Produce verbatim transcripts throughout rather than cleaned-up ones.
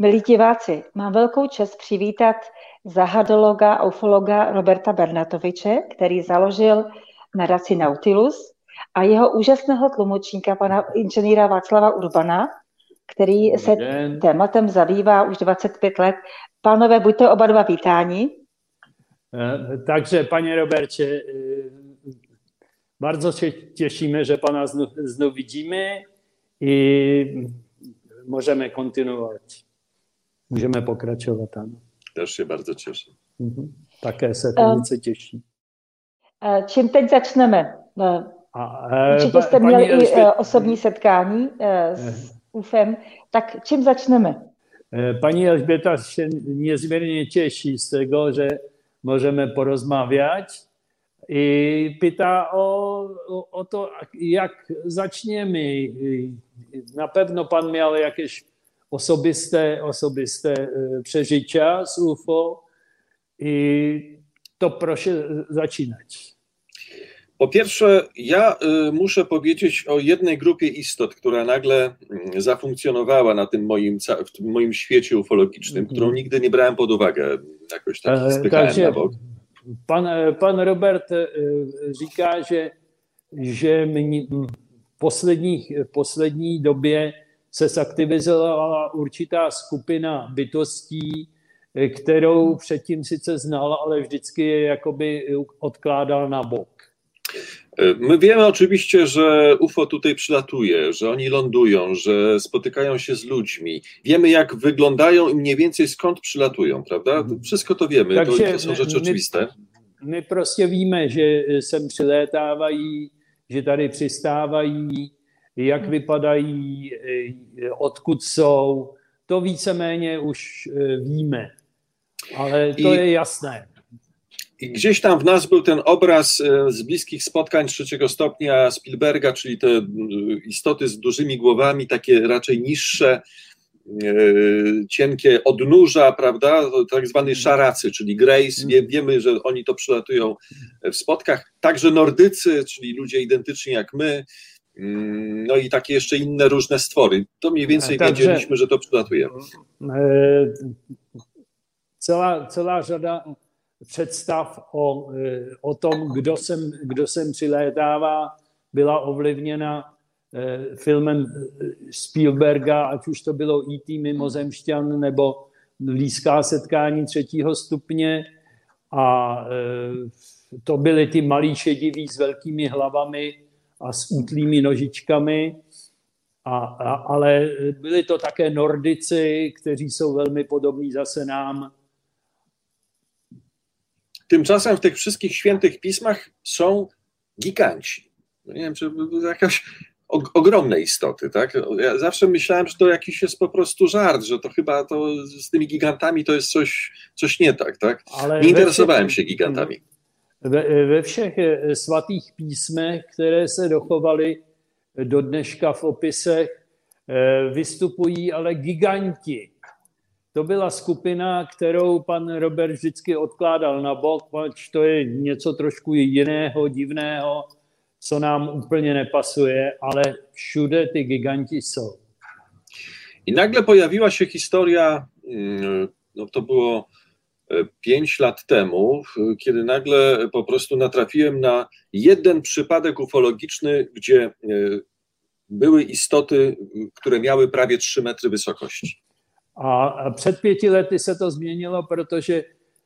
Milí diváci, mám velkou čest přivítat zahadologa a ufologa Roberta Bernatoviče, který založil nadaci Nautilus, a jeho úžasného tlumočníka, pana inženýra Václava Urbana, který se tématem zabývá už dvacet pět let. Pánové, buďte oba dva vítáni. Takže, panie Robercie, bardzo się cieszymy, że pana znów, znów widzimy i możemy kontynuować. Můžeme pokračovat, ano. Też się bardzo cieszę. Mhm. Také se to velice těší. Čím teď začneme? A, Určitě jste měli i Elžbět... osobní setkání s UFem, tak čím začneme? Pani Elżbieta się niezmiernie cieszy z tego, że możemy porozmawiać i pyta o, o, o to, jak zaczniemy. Na pewno pan miał jakieś osobiste, osobiste przeżycia z U F O i to proszę zaczynać. Po pierwsze, ja muszę powiedzieć o jednej grupie istot, która nagle zafunkcjonowała na tym moim, w tym moim świecie ufologicznym, którą nigdy nie brałem pod uwagę, jakoś tak spychałem na bok. Pan, pan Robert říká, že, že v poslední, v poslední době se zaktivizovala určitá skupina bytostí, kterou předtím sice znal, ale vždycky je jakoby odkládal na bok. My wiemy oczywiście, że U F O tutaj przylatuje, że oni lądują, że spotykają się z ludźmi. Wiemy, jak wyglądają i mniej więcej skąd przylatują, prawda? Wszystko to wiemy, to, to są rzeczy oczywiste. My, my prostě víme, že sem přilétávají, že tady přistávají, jak vypadají, odkud jsou. To víceméně už víme, ale to I... je jasné. I gdzieś tam w nas był ten obraz z bliskich spotkań trzeciego stopnia Spielberga, czyli te istoty z dużymi głowami, takie raczej niższe, cienkie odnóża, prawda, tak zwani szaracy, czyli Greys. Wie, wiemy, że oni to przylatują w spotkach. Także Nordycy, czyli ludzie identyczni jak my, no i takie jeszcze inne różne stwory. To mniej więcej Takže, wiedzieliśmy, że to przylatuje. Cała, cała řada představ o, o tom, kdo sem, kdo sem přilétává, byla ovlivněna filmem Spielberga, ať už to bylo í té Mimozemšťan nebo Blízká setkání třetího stupně. A to byly ty malí šediví s velkými hlavami a s útlými nožičkami. A, a, ale byli to také Nordici, kteří jsou velmi podobní zase nám. Tymczasem w tych wszystkich świętych pismach są giganci. Nie wiem, czy jakaś ogromne istoty, tak? Ja zawsze myślałem, że to jakiś jest po prostu żart, że to chyba to z tymi gigantami to jest coś, coś nie tak, tak? Ale nie interesowałem się gigantami. We, we všech svatých písmech, které se dochovaly do dneška v opisech, vystupují ale giganti. To byla skupina, kterou pan Robert vždycky odkládal na bok, pač to je něco trošku jiného, divného, co nám úplně nepasuje, ale všude ty giganti jsou. I nagle pojawiła się historia, no to było pięć lat temu, kiedy nagle po prostu natrafiłem na jeden przypadek ufologiczny, gdzie były istoty, które miały prawie trzy metry wysokości. A před pěti lety se to změnilo, protože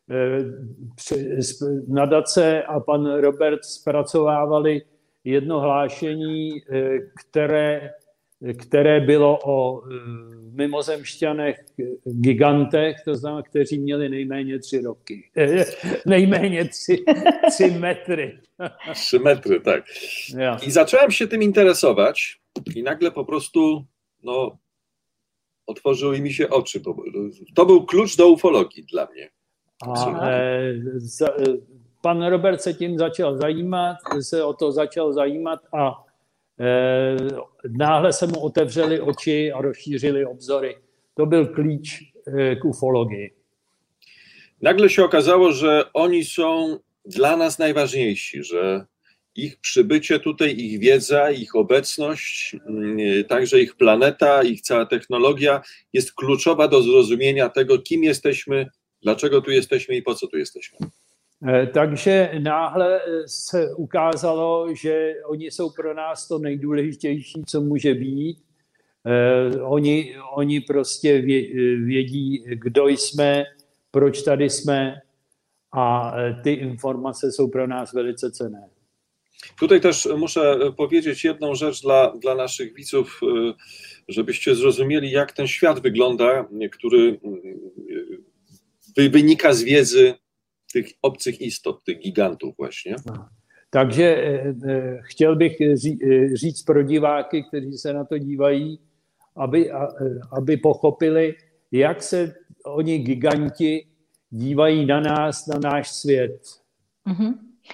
nadace a pan Robert zpracovávali jedno hlášení, které, které bylo o mimozemšťanech gigantech, to znamená, kteří měli nejméně tři roky. Nejméně tři, tři metry. Trzy metry, tak. Ja. I zacząłem się tym interesować i nagle po prostu, no, otworzyły mi się oczy. To był klucz do ufologii dla mnie. A, e, za, pan Robert se tím začal zajímat, se o to začal zajímat a e, náhle se mu otevřely oči a rozšířily obzory. To byl klíč e, k ufologii. Nagle się okazało, że oni są dla nas najważniejsi, że ich przybycie tutaj, ich wiedza, ich obecność, także ich planeta, ich cała technologia jest kluczowa do zrozumienia tego, kim jesteśmy, dlaczego tu jesteśmy i po co tu jesteśmy. Takže náhle se ukázalo, že oni jsou pro nás to nejdůležitější, co může být. Oni, oni prostě vědí, kdo jsme, proč tady jsme a ty informace jsou pro nás velice cenné. Tutaj też muszę powiedzieć jedną rzecz dla, dla naszych widzów, żebyście zrozumieli, jak ten świat wygląda, który wynika z wiedzy tych obcych istot, tych gigantów właśnie. Takže eh, chtěl bych ří, říct pro diváky, kteří se na to dívají, aby, aby pochopili, jak se oni giganti dívají na nás, na náš svět. Mm-hmm.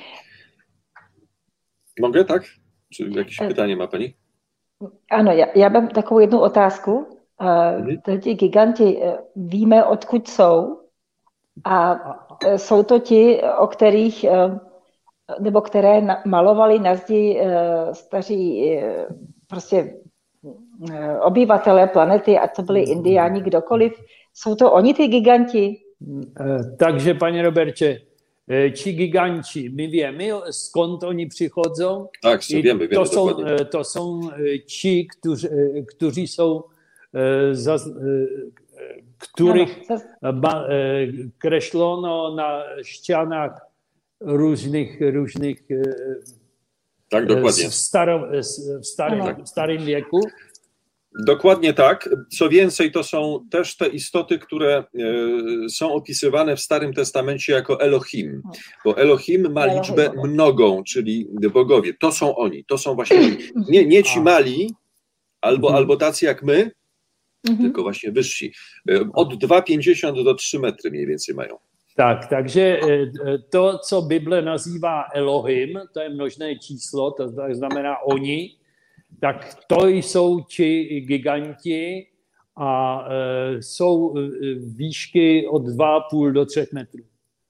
Mogę, tak? Czy jakieś pytanie ma pani? Ano, já, já mám takovou jednu otázku. Uh, ti giganti, víme, odkud jsou? A jsou to ti, o kterých, nebo které malovali na zdi staří prostě obyvatelé planety, ať to byli indiáni, kdokoliv. Jsou to oni, ty giganti? Takže, paní Roberče, či giganti, my víme, skąd oni přichodzą. Tak, wiemy, wiemy to są, dokładnie. To są ci, którzy, którzy są za, których ba, kreślono na ścianach różnych, różnych tak, dokładnie. w, staro, w starym, tak. starym wieku. Dokładnie tak. Co więcej, to są też te istoty, które są opisywane w Starym Testamencie jako Elohim, bo Elohim ma liczbę mnogą, czyli bogowie. To są oni, to są właśnie oni. Nie, nie ci mali, albo, mhm. albo tacy jak my, mhm. tylko właśnie wyżsi. Od dwa pięćdziesiąt do trzy metry mniej więcej mają. Tak, takže to, co Bible nazývá Elohim, to je množné číslo, to znamená oni, tak to jsou ti giganti a e, jsou výšky od dva a půl do třech metrů.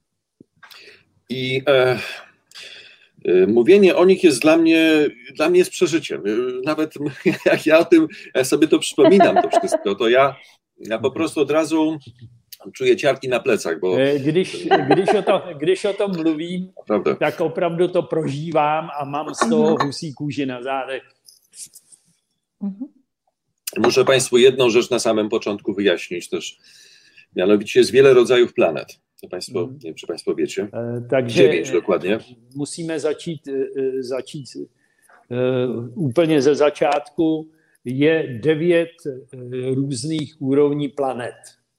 I e, e, mówienie o nich jest dla mnie, dla mnie jest przeżyciem. Nawet jak ja o tym ja sobie to przypominam, to wszystko, to ja, ja po prostu od razu czuję ciarki na plecach, bo... Když, když, o, to, když o tom mluvím, Prawda. tak opravdu to prožívám a mám z toho husí kůži na zádech. Muszę Państwu jedną rzecz na samym początku wyjaśnić też. Mianowicie jest wiele rodzajów planet. To Państwo, nie wiem, czy Państwo wiecie. Takže dziewięć dokładnie. Musíme začít, začít úplně ze začátku. Je devět různých úrovní planet.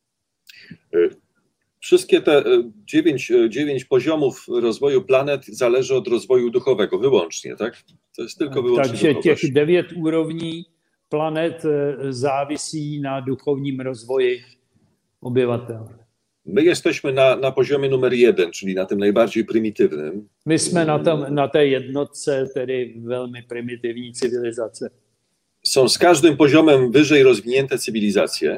Wszystkie te dziewięć, dziewięć poziomów rozwoju planet zależy od rozwoju duchowego wyłącznie, tak? To jest tylko wyłącznie Takže těch devět úrovní planet závisí na duchovním rozvoji obyvatel. My jesteśmy na, na poziomie numer jeden, czyli na tym najbardziej prymitywnym. My jsme na, tom, na té jednotce, tedy velmi primitivní civilizace. Są z każdym poziomem wyżej rozwinięte cywilizacje.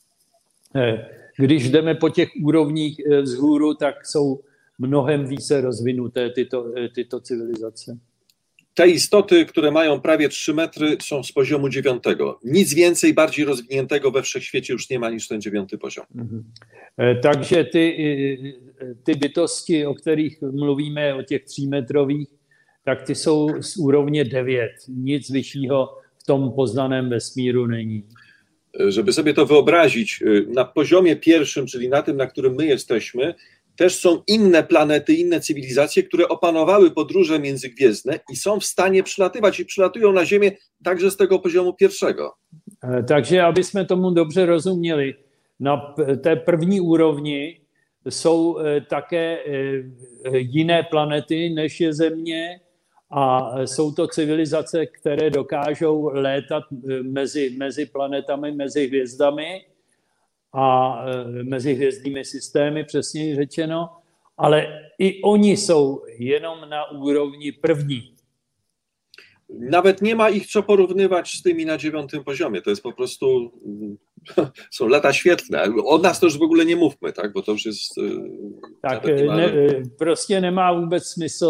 Když jdeme po těch úrovních vzhůru, tak jsou mnohem více rozvinuté tyto, tyto cywilizace. Te istoty, które mają prawie trzy metry, są z poziomu dziewiątego. Nic więcej, bardziej rozwiniętego we wszechświecie już nie ma niż ten dziewiąty poziom. Mhm. Takže ty, ty bytosti, o kterých mluvíme, o těch třímetrových, tak ty jsou z úrovně devět. Nic vyššího v tom poznaném vesmíru není. Żeby sobie to wyobrazić, na poziomie pierwszym, czyli na tym, na którym my jesteśmy, też są inne planety, inne cywilizacje, które opanowały podróże międzygwiezdne i są w stanie przylatywać i przylatują na Ziemię także z tego poziomu pierwszego. Takže, aby jsme tomu dobře rozuměli, na té první úrovni jsou také jiné planety, než je Země, a jsou to civilizace, které dokážou létat mezi, mezi planetami, mezi hvězdami a mezi hvězdnými systémy, přesněji řečeno, ale i oni jsou jenom na úrovni první. Nawet nie ma ich co porównywać z tymi na dziewiątym poziomie. To jest po prostu, są lata świetlne. O nas to już w ogóle nie mówmy, tak? Bo to już jest... Tak, ne, prostě nemá vůbec smysl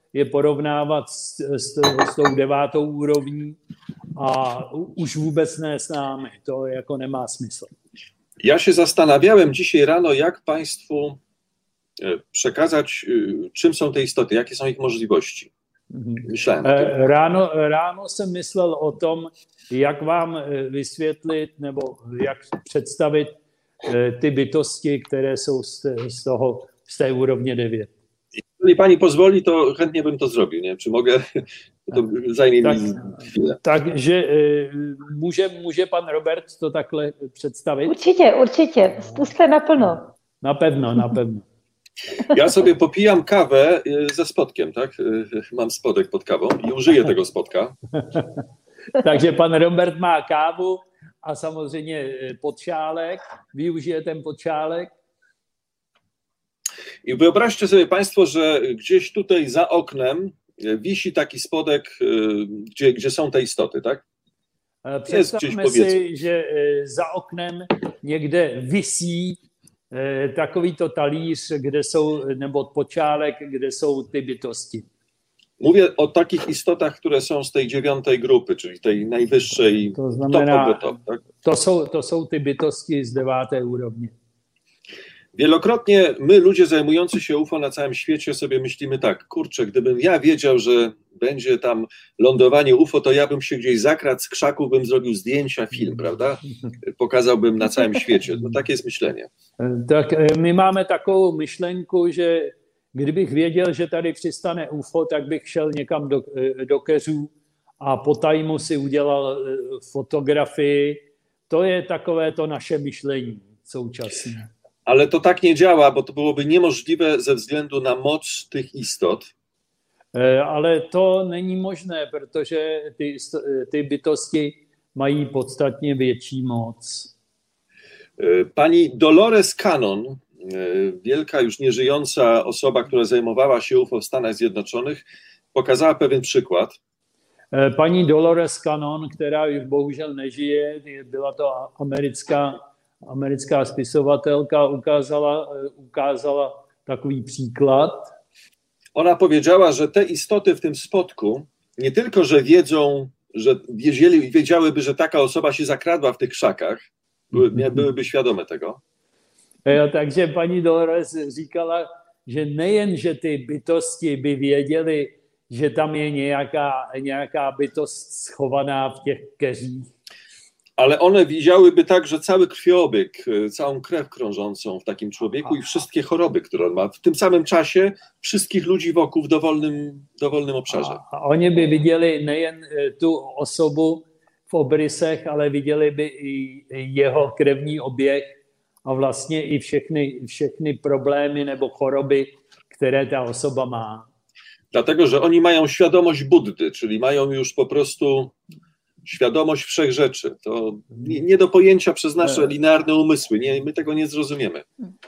je porovnávat s, s, s tou devátou úrovní a už vůbec ne s námi. To jako nemá smysl. Ja się zastanawiałem dzisiaj rano, jak Państwu przekazać, czym są te istoty, jakie są ich możliwości. Myślałem. Ráno, ráno jsem myslel o tom, jak vám vysvětlit nebo jak představit ty bytosti, které jsou z, z, toho, z té úrovně devět. Jeżeli pani pozwoli, to chętnie bym to zrobił. Nie? Czy mogę? To zajmie tak, mi chwilę. Takže může, může pan Robert to takhle představit? Určitě, určitě. Zkuste naplno. Napevno, napevno. Ja sobie popijam kawę ze spodkiem, tak? Mam spodek pod kawą i użyję tego spodka. Takže pan Robert má kávu a samozřejmě podšálek, využije ten podšálek. I wyobraźcie sobie Państwo, że gdzieś tutaj za oknem wisi taki spodek, gdzie, gdzie są te istoty, tak? Představme si, že za oknem někde visí takovýto talíř, kde jsou, nebo podšálek, kde jsou ty bytosti. Mówię o takich istotach, które są z tej dziewiątej grupy, czyli tej najwyższej, to znamená, top, top, tak? to, jsou, to jsou ty bytosti z deváté úrovně. Wielokrotnie my, ludzie zajmujący się U F O na całym świecie, sobie myślimy tak, kurczę, gdybym ja wiedział, że będzie tam lądowanie U F O, to ja bym się gdzieś zakradł z krzaków, bym zrobił zdjęcia, film, prawda? Pokazałbym na całym świecie. No takie jest myślenie. Tak my máme takovou myšlenku, že kdybych věděl, že tady přistane U F O, tak bych šel někam do, do keřů a po tajmu si udělal fotografii. To je takové to naše myšlení současné. Ale to tak nie działa, bo to byłoby niemożliwe ze względu na moc tych istot. Ale to není možné, protože ty, ty bytosti mají podstatně větší moc. Pani Dolores Cannon, wielka już nieżyjąca osoba, która zajmowała się U F O w Stanach Zjednoczonych, pokazała pewien przykład. Paní Dolores Cannon, která už bohužel nežije, byla to americká americká spisovatelka, ukázala, ukázala takový příklad. Ona powiedziała, że te istoty w tym spodku nie tylko, że wiedzą, że wiedzieli, wiedziałyby, że taka osoba się zakradła w tych krzakach, były, byłyby świadome tego. Jo, takže paní Dolores říkala, že nejen, že ty bytosti by věděly, že tam je nějaká, nějaká bytost schovaná v těch keřích, ale one widziałyby także cały krwiobieg, całą krew krążącą w takim człowieku i wszystkie choroby, które on ma. W tym samym czasie wszystkich ludzi wokół w dowolnym, dowolnym obszarze. A oni by viděli nejen tu osobu v obrysech, ale viděli by i jeho krevní oběh a vlastně i všechny, všechny problémy nebo choroby, které ta osoba má. Dlatego, że oni mają świadomość Buddy, czyli mają już po prostu świadomość wszech rzeczy. To nie, nie do pojęcia przez nasze linearne umysły. Nie, my tego nie zrozumiemy.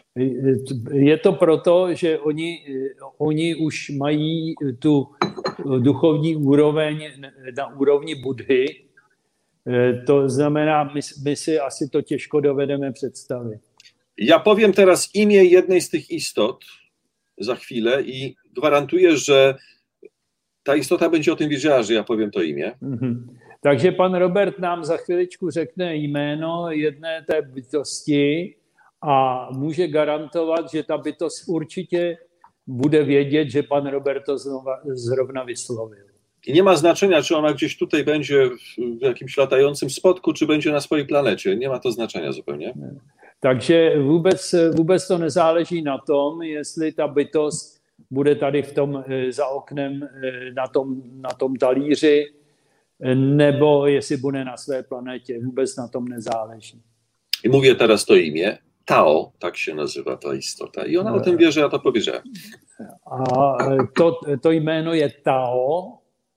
Je to proto, že oni, oni už mají tu duchovní úroveň na úrovni Budhy. To znamená, my, my si asi to těžko dovedeme představit. Ja powiem teraz imię jednej z tych istot za chwilę i gwarantuję, że ta istota będzie o tym wiedziała, że ja powiem to imię. Mhm. Takže pan Robert nám za chviličku řekne jméno jedné té bytosti a může garantovat, že ta bytost určitě bude vědět, že pan Robert to znova, zrovna vyslovil. I nie ma znaczenia, czy ona gdzieś tutaj będzie w jakimś latającym spodku, czy będzie na swojej planecie. Nie ma to znaczenia zupełnie. Takže vůbec, vůbec to nezáleží na tom, jestli ta bytost bude tady v tom, za oknem na tom, na tom talíři, nebo jestli bude na své planetě. Vůbec na tom nezáleží. I mówię teraz to imię. Tao, tak się nazywa ta istota. I ona o tym wie, że ja to powiedziałem. A to, to jméno je Tao.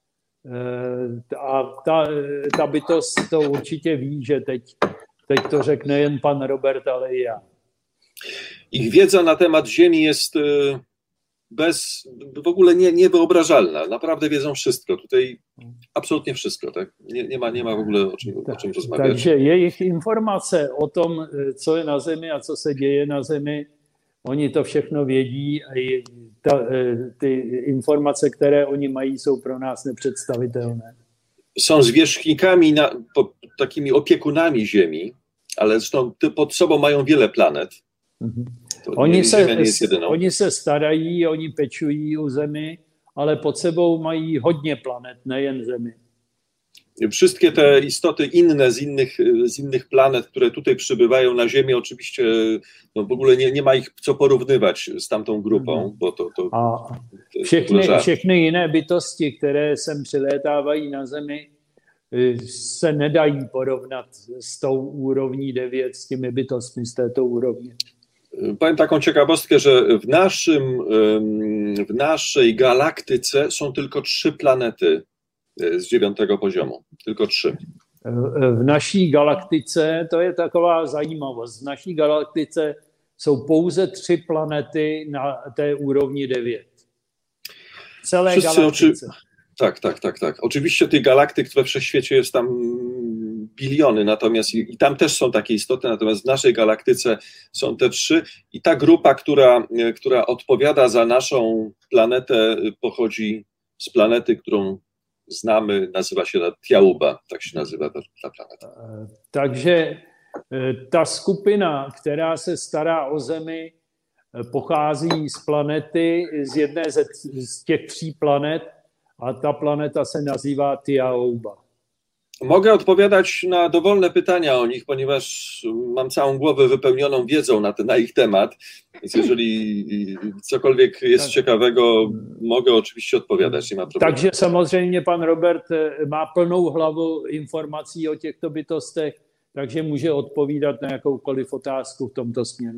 A ta, ta bytost to určitě ví, že teď, teď to řekne jen pan Robert, ale i já. Ich wiedza na temat Ziemi jest bez, w ogóle nie, niewyobrażalna. Naprawdę wiedzą wszystko. Tutaj absolutnie wszystko. Tak? Nie, nie, ma, nie ma w ogóle o czym, o czym rozmawiać. Takže jejich informace o tom, co je na Zemi a co se děje na Zemi, oni to všechno vědí a ta, ty informace, které oni mají, jsou pro nás nepředstavitelné. Są zwierzchnikami, na, po, takimi opiekunami Ziemi, ale zresztą pod sobą mają wiele planet. Mhm. Oni se, oni se starají, oni pečují o Zemi, ale pod sebou mají hodně planet, nejen Zemi. Wszystkie te istoty inne z innych, z innych planet, które tutaj przybywają na Ziemię, oczywiście no w ogóle nie, nie ma ich co porównywać z tamtą grupą, bo to, to, A všechny, všechny jiné bytosti, které sem přilétávají na Zemi, se nedají porovnat s tou úrovní devět, s těmi bytostmi z této úrovně. Powiem taką ciekawostkę, że w, naszym, w naszej galaktyce są tylko trzy planety z dziewiątego poziomu. Tylko trzy. V naší galaktice, to je taková zajímavost, v naší galaktice jsou pouze tři planety na té úrovni devět. V celé Wszyscy galaktyce. Oczy... Tak, tak, tak, tak. Oczywiście tych galaktyk we wszechświecie jest tam biliony, natomiast i, i tam też są takie istoty, natomiast w naszej galaktyce są te trzy i ta grupa, która, która odpowiada za naszą planetę, pochodzi z planety, którą znamy, nazywa się Tiauba, tak się nazywa ta, ta planeta. Takže ta skupina, která se stará o Zemi, pochází z planety, z jedné ze, z těch tří planet, a ta planeta se nazývá Tiauba. Mogę odpowiadać na dowolne pytania o nich, ponieważ mam całą głowę wypełnioną wiedzą na, te, na ich temat, więc jeżeli cokolwiek jest tak ciekawego, mogę oczywiście odpowiadać, nie ma problemu. Takže samozřejmě pan Robert má plnou hlavu informací o těchto bytostech, takže může odpovídat na jakoukoliv otázku v tomto směru.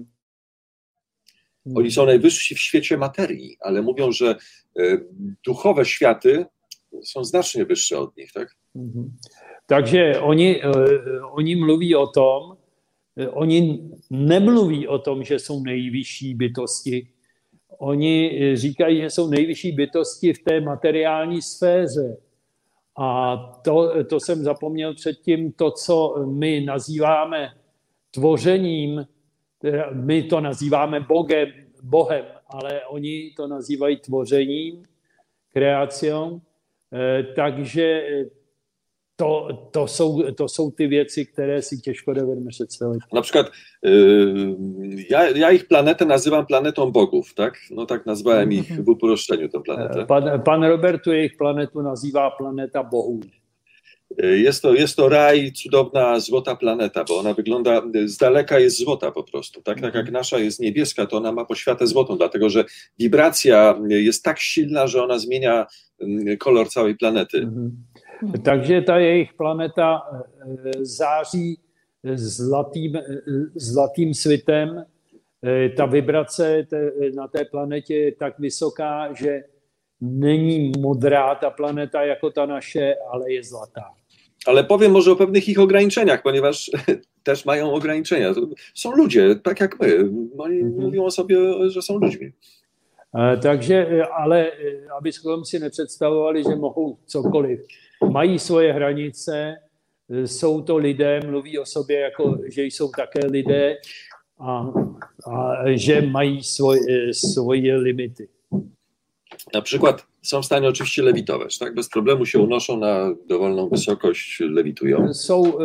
Oni są najwyżsi w świecie materii, ale mówią, że duchowe światy są znacznie wyższe od nich, tak? Mhm. Takže oni, oni mluví o tom, oni nemluví o tom, že jsou nejvyšší bytosti. Oni říkají, že jsou nejvyšší bytosti v té materiální sféře. A to, to jsem zapomněl předtím, to, co my nazýváme tvořením, my to nazýváme Bogem, Bohem, ale oni to nazývají tvořením, kreaciou. Takže to, to, jsou, to jsou ty věci, které si těžko dovedeme představit. Na przykład yy, ja, ja ich planetę nazywam planetą bogów, tak? No tak nazwałem ich w uproszczeniu tę planetę. Pan, pan Robertu jejich planetu nazývá planeta bohů. Jest to, jest to raj, cudowna, złota planeta, bo ona wygląda, z daleka jest złota po prostu. Tak, tak jak nasza jest niebieska, to ona ma poświatę złotą, dlatego że wibracja jest tak silna, że ona zmienia kolor całej planety. Mhm. Takže ta jejich planeta září zlatým, zlatým svitem. Ta vibrace na té planetě je tak vysoká, že není modrá ta planeta jako ta naše, ale je zlatá. Ale powiem może o pewnych ich ograniczeniach, ponieważ też mają ograniczenia. Są ludzie, tak jak my. Oni mhm. mówią o sobie, że są ludźmi. Takže, ale abychom si nepředstavovali, že mohou cokoliv. Mají svoje hranice, jsou to lidé, mluví o sobě, jako, že jsou také lidé a, a že mají svoje, svoje limity. Na przykład są w stanie oczywiście lewitować, tak? Bez problemu się unoszą na dowolną wysokość, lewitują. Jsou,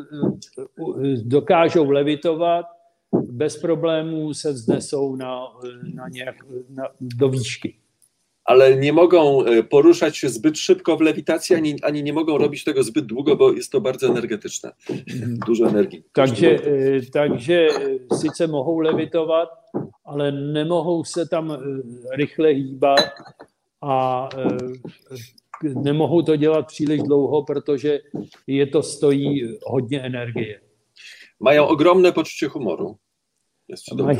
dokážou levitovat, bez problémů se vznesou na, na nějak, na, do výšky. Ale nie mogą poruszać się zbyt szybko w lewitacji, ani, ani nie mogą robić tego zbyt długo, bo jest to bardzo energetyczne. Dużo energii. Takže, takže sice mohou levitovat, ale nemohou se tam rychle hýbat a nemohou to dělat příliš dlouho, protože je to stojí hodně energie. Mają ogromne poczucie humoru. Mají,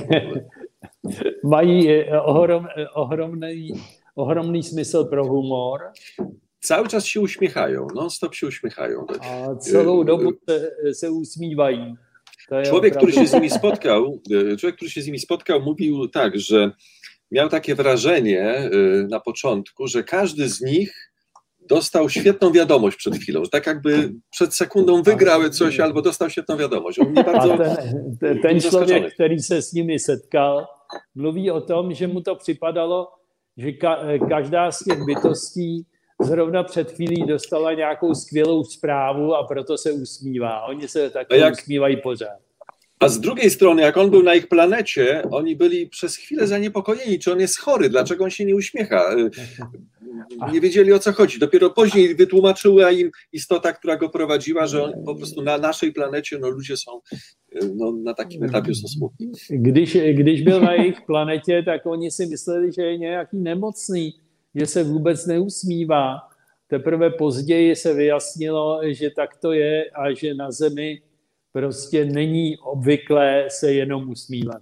mají ohrom, ohromný, ohromný smysl pro humor. Cały czas się uśmiechają, non-stop się uśmiechają. A celou dobu se, se usmívají. Człowiek, który się z nimi spotkał, człowiek, który się z nimi spotkał, mówił tak, że miał takie wrażenie na początku, że każdy z nich dostał świetną wiadomość przed chwilą, że tak jakby przed sekundą wygrały coś albo dostał świetną wiadomość. On nie bardzo ten, ten, ten člověk, který se s nimi setkal, mluví o tom, že mu to připadalo, že ka- každá z těch bytostí zrovna před chvílí dostala nějakou skvělou zprávu a proto se usmívá. Oni se takhle jak... usmívají pořád. A z drugiej strony, jak on był na ich planecie, oni byli przez chwilę zaniepokojeni, czy on jest chory, dlaczego on się nie uśmiecha. Nie wiedzieli, o co chodzi. Dopiero później wytłumaczyła im istota, która go prowadziła, że on po prostu na naszej planecie no, ludzie są no, na takim etapie są smutni. Když, když byl na jejich planetě, tak oni si mysleli, že je nějaký nemocný, že se vůbec neusmívá. Teprve později se vyjasnilo, že tak to je a že na Zemi prostě není obvyklé se jenom usmívat.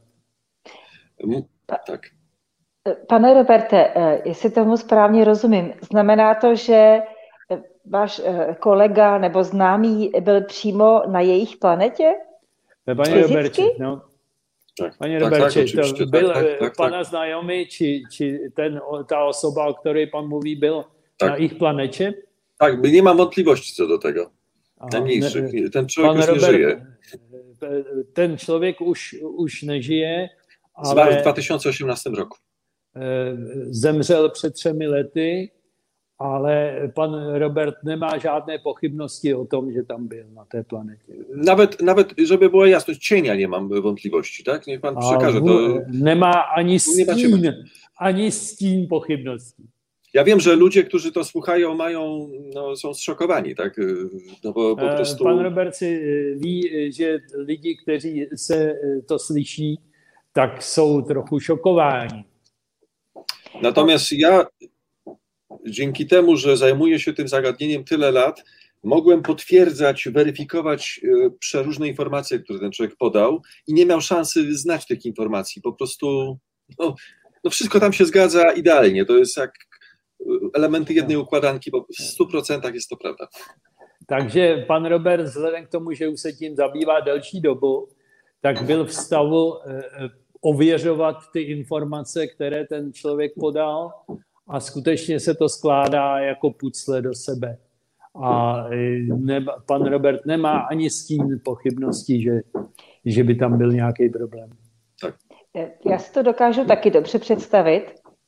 Tak. Pane Roberte, jestli tomu správně rozumím, znamená to, že váš kolega nebo známý byl přímo na jejich planetě? Pane Roberče, no. Tak, Pane tak, Roberče, tak, to byl tak, tak, tak, pana tak. znajomý, či, či ten, ta osoba, o které pan mluví, byl tak. na ich planecie? Tak, nie mam wątpliwości co do tego. Najmniejszych. Ten człowiek już Robert, nie żyje. Ten člověk už, už nežije, ale Zmarł w dwa tysiące osiemnastym roku. Zemřel před třemi lety, ale pan Robert nemá žádné pochybnosti o tom, že tam byl na té planetě. Nawet, nawet żeby była jasność, cienia nie mam wątpliwości, tak? Niech pan przekaże to. Nemá ani stín, ani stín pochybností. Ja wiem, że ludzie, którzy to słuchają, mają, no, są zszokowani, tak? No bo po prostu... Pan Robert si ví, že lidi, kteří se to slyší, tak jsou trochu šokováni. Natomiast ja dzięki temu, że zajmuję się tym zagadnieniem tyle lat, mogłem potwierdzać, weryfikować przeróżne informacje, które ten człowiek podał i nie miał szansy znać tych informacji. Po prostu no, no wszystko tam się zgadza idealnie. To jest jak elementy jednej układanki, bo w stu procentach jest to prawda. Takže pan Robert, vzhledem k tomu, že už se tím zabývá delší dobu, tak byl v stavu ověřovat ty informace, které ten člověk podal a skutečně se to skládá jako pucle do sebe. A ne, pan Robert nemá ani stín pochybností, že, že by tam byl nějaký problém. Tak. Já si to dokážu taky dobře představit.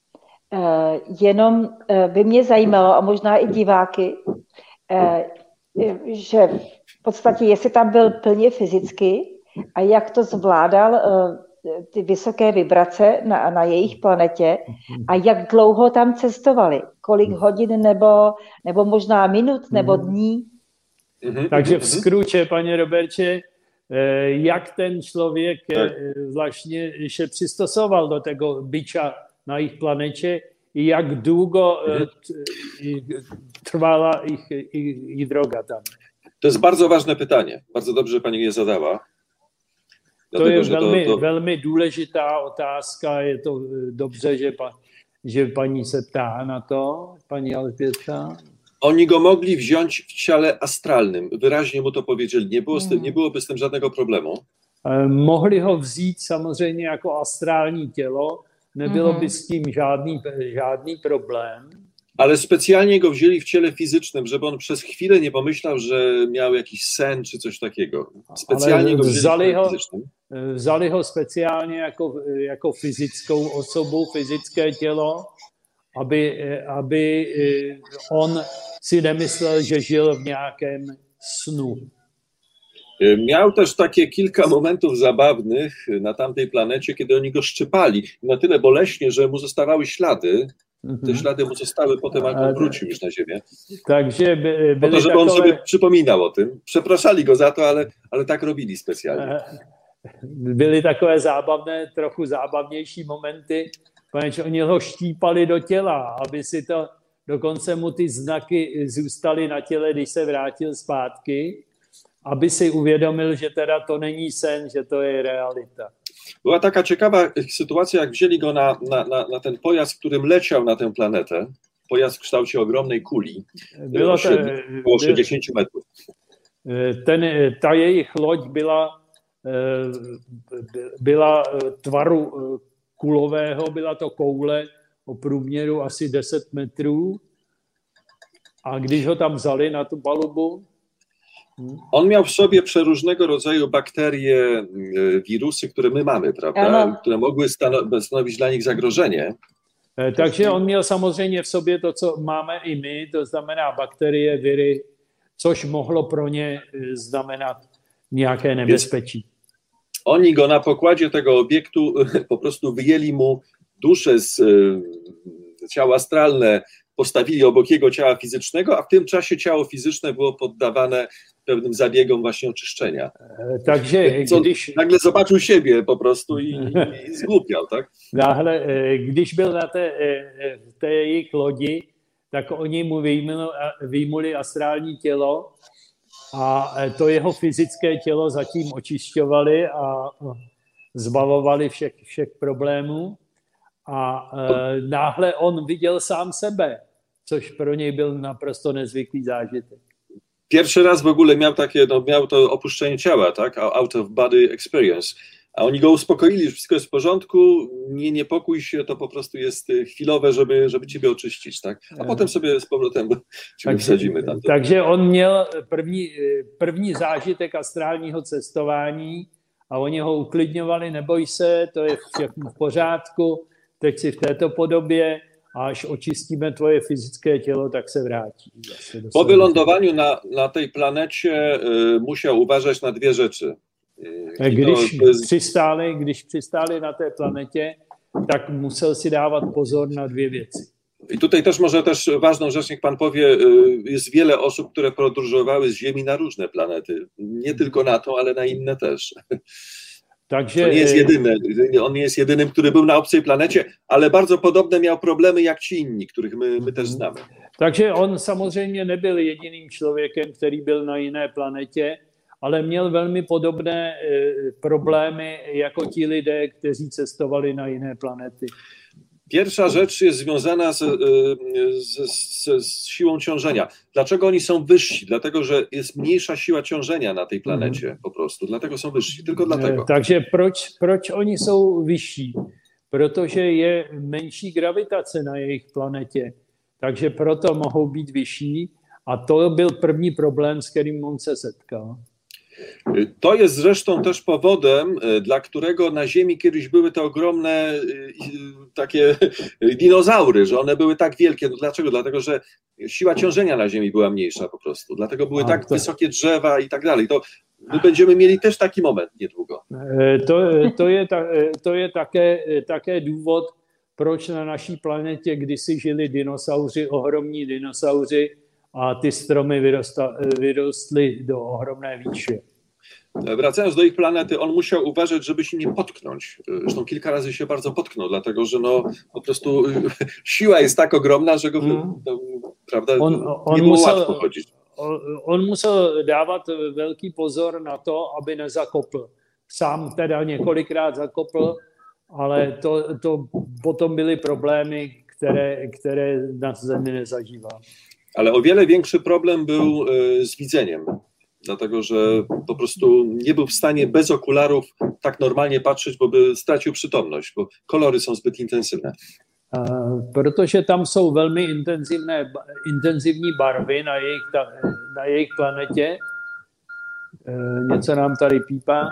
Jenom by mě zajímalo, a možná i diváky, že v podstatě, jestli tam byl plně fyzicky a jak to zvládal ty vysoké vibrace na, na jejich planetě a jak dlouho tam cestovali, kolik hodin nebo, nebo možná minut nebo dní. Takže v skruče, paní Roberče, jak ten člověk vlastně se přistosoval do tego bycia na ich planecie i jak długo trwała ich, ich, ich droga tam. To jest bardzo ważne pytanie. Bardzo dobrze, że pani je zadała. Dlatego, to je velmi, to, to... velmi důležitá otázka. Je to dobře, že, pa, že paní se ptá na to, paní Alžběta. Oni go mogli wziąć w ciele astralnym. Wyraźnie mu to powiedzieli. Nie, było z tym, nie byłoby z tym żadnego problemu. Mohli ho vzít samozřejmě jako astrální tělo. Nebylo by z tím žádný, žádný problém. Ale specjalnie go wzięli w ciele fizycznym, żeby on przez chwilę nie pomyślał, że miał jakiś sen czy coś takiego. Specjalnie go wzięli vzali w ciele ho, fizycznym. Vzali ho specjalnie jako, jako fyzickou osobu, fyzické tělo, aby, aby on si nemyslel, že žil w nějakém snu. Miał też takie kilka momentów zabawnych na tamtej planecie, kiedy oni go szczypali na tyle boleśnie, że mu zostawały ślady. Te ślady mu zostały potem, jak on wrócił już na ziemię. Takže by, po to, żeby on sobie przypominał o tym. Przepraszali go za to, ale, ale tak robili specjalnie. Byly takové zábavné, trochu zábavnější momenty, protože oni ho štípali do těla, aby si to, dokonce mu ty znaky zůstaly na těle, když se vrátil zpátky, aby si uvědomil, że teda to není sen, że to jest realita. Była taka ciekawa sytuacja, jak wzięli go na, na, na, na ten pojazd, którym leciał na tę planetę. Pojazd w kształcie ogromnej kuli, Było to, około sześćdziesiąt metrów. Ten, ta jejich loď byla, byla tvaru kulového, byla to koule o průměru asi deset metrů. A když ho tam vzali na tu palubu, On miał w sobie przeróżnego rodzaju bakterie, wirusy, które my mamy, prawda? Ano. Które mogły stanowić dla nich zagrożenie. Takže on měl samozřejmě v sobě to, co máme i my, to znamená bakterie, viry, což mohlo pro ně znamenat nějaké nebezpečí. Oni go na pokładzie tego obiektu po prostu wyjęli mu duszę z ciała astralne, postawili obok jego ciała fizycznego, a w tym czasie ciało fizyczne było poddawane pewnym zabiegom właśnie oczyszczenia. Takže Co, když... nagle zobaczył siebie po prostu i, i, i zgłupiał, tak? Náhle, když byl na té, té jejich lodi, tak oni mu vyjmuli, vyjmuli astrální tělo a to jeho fyzické tělo zatím očišťovali a zbavovali všech, všech problémů. A e, náhle on viděl sám sebe, což pro něj byl naprosto nezvyklý zážitek. Pierwszy raz w ogóle miał takie, no, miał to opuszczenie ciała, tak? Out of body experience. A oni go uspokoili, że wszystko jest w porządku, nie niepokój się, to po prostu jest chwilowe, żeby, żeby ciebie oczyścić, tak? A potem sobie z powrotem ciebie wsadzimy tam. Takže on měl první, první zážitek astrálního cestování a oni ho uklidňovali, neboj se, to je všechno v pořádku, teď si v této podobě a až očistíme tvoje fyzické tělo, tak se vrátí. Po wylądowaniu na, na tej planecie y, musiał uważać na dwie rzeczy. Y, když, to, to jest... přistáli, když přistáli na té planetě, tak musel si dávat pozor na dvě věci. I tutaj też może też ważną rzecz, niech pan powie, jest wiele osób, które podróżowały z Ziemi na różne planety. Nie tylko na tą, ale na inne też. Takže, to nie jest jedyny, on nie jest jedynym, który był na obcej planecie, ale bardzo podobne miał problemy jak ci inni, których my, my też znamy. Takže on samozřejmě nebyl jediným člověkem, který byl na jiné planetě, ale měl velmi podobné problémy jako ti lidé, kteří cestovali na jiné planety. Pierwsza rzecz jest związana z, z, z, z siłą ciążenia. Dlaczego oni są wyżsi? Dlatego, że jest mniejsza siła ciążenia na tej planecie mm. po prostu. Dlatego są wyżsi. Tylko dlatego. Takže proč, proč oni jsou vyšší? Protože je menší gravitace na jejich planetě. Takže proto mohou být vyšší. A to byl první problém, s kterým on se setkal. To jest zresztą też powodem, dla którego na Ziemi kiedyś były te ogromne takie dinozaury, że one były tak wielkie. No dlaczego? Dlatego, że siła ciążenia na Ziemi była mniejsza po prostu. Dlatego były A, tak to... wysokie drzewa i tak dalej. To my będziemy mieli też taki moment niedługo. To, to, je, to je také, také důvod, proč na naší planetě kdysi žili dinosauři, ohromní dinosauři, a ty stromy wyrosta, wyrostly do ohromnej výše. Wracając do ich planety, on musiał uważać, żeby się nie potknąć. Zresztą kilka razy się bardzo potknął, dlatego że no, po prostu siła jest tak ogromna, że go mm. no, prawda, on, on nie było musel, łatwo chodzić. On, on musel dávat velký pozor na to, aby nezakopl. Sám teda několikrát zakopl, ale to, to potom byly problémy, které, které na Zemi nezažíval. Ale o wiele większy problem był z widzeniem, dlatego że po prostu nie był w stanie bez okularów tak normalnie patrzeć, bo by stracił przytomność, bo kolory są zbyt intensywne. Protože tam jsou velmi intenzivné, intenzivní barvy na jejich, na jejich planetě, něco nám tady pípá,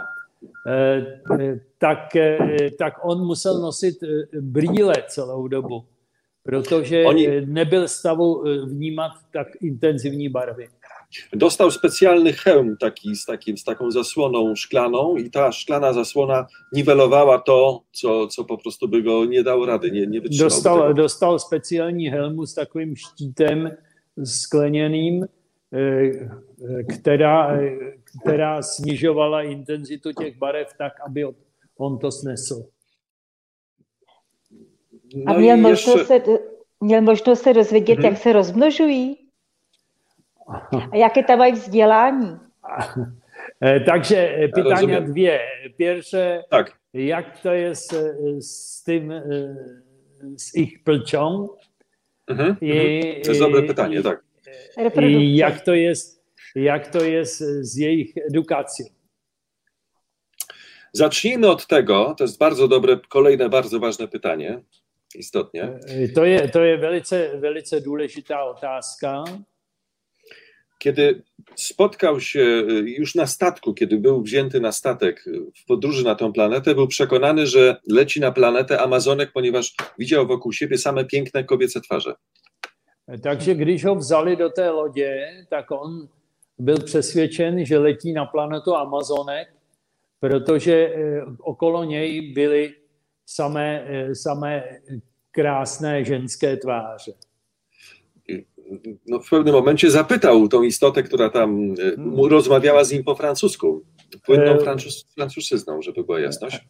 tak, tak on musel nosit brýle celou dobu. Protože Oni... nebyl w stavu vnímat tak intenzywní barwy. Dostał specjalny hełm taki z, takim, z taką zasłoną szklaną i ta szklana zasłona niwelowała to, co, co po prostu by go nie dało rady, nie, nie wytrzymało. Dostal, dostal specjalní helmu s takovým štítem skleněným, která, která snižovala intenzitu těch barev tak, aby on to snesl. No a měl možnost, ještě... se, měl možnost se dozvědět, mm-hmm. jak se rozmnožují? A jaké tam mají vzdělání? Takže pytania dvě. Pierwsze, tak. jak to jest z tym, z ich płcią? Mm-hmm. I, to jest dobre pytanie, tak. I jak to jest, jak to jest z ich edukacją? Zacznijmy od tego, to jest bardzo dobre, kolejne bardzo ważne pytanie, istotnie. To je, to je velice, velice důležitá otázka. kiedy spotkał się już na statku, kiedy był wzięty na statek w podróży na tę planetę, był przekonany, że leci na planetę Amazonek, ponieważ widział wokół siebie same piękne kobiece twarze. Takže když ho vzali do té lodě, tak on byl přesvědčen, že letí na planetu Amazonek, protože okolo něj byly samé, samé krásné ženské tváře. No, w pewnym momencie zapytał tą istotę, która tam mu rozmawiała z nim po francusku. Płynną francuz, francuszyzną, żeby była jasność.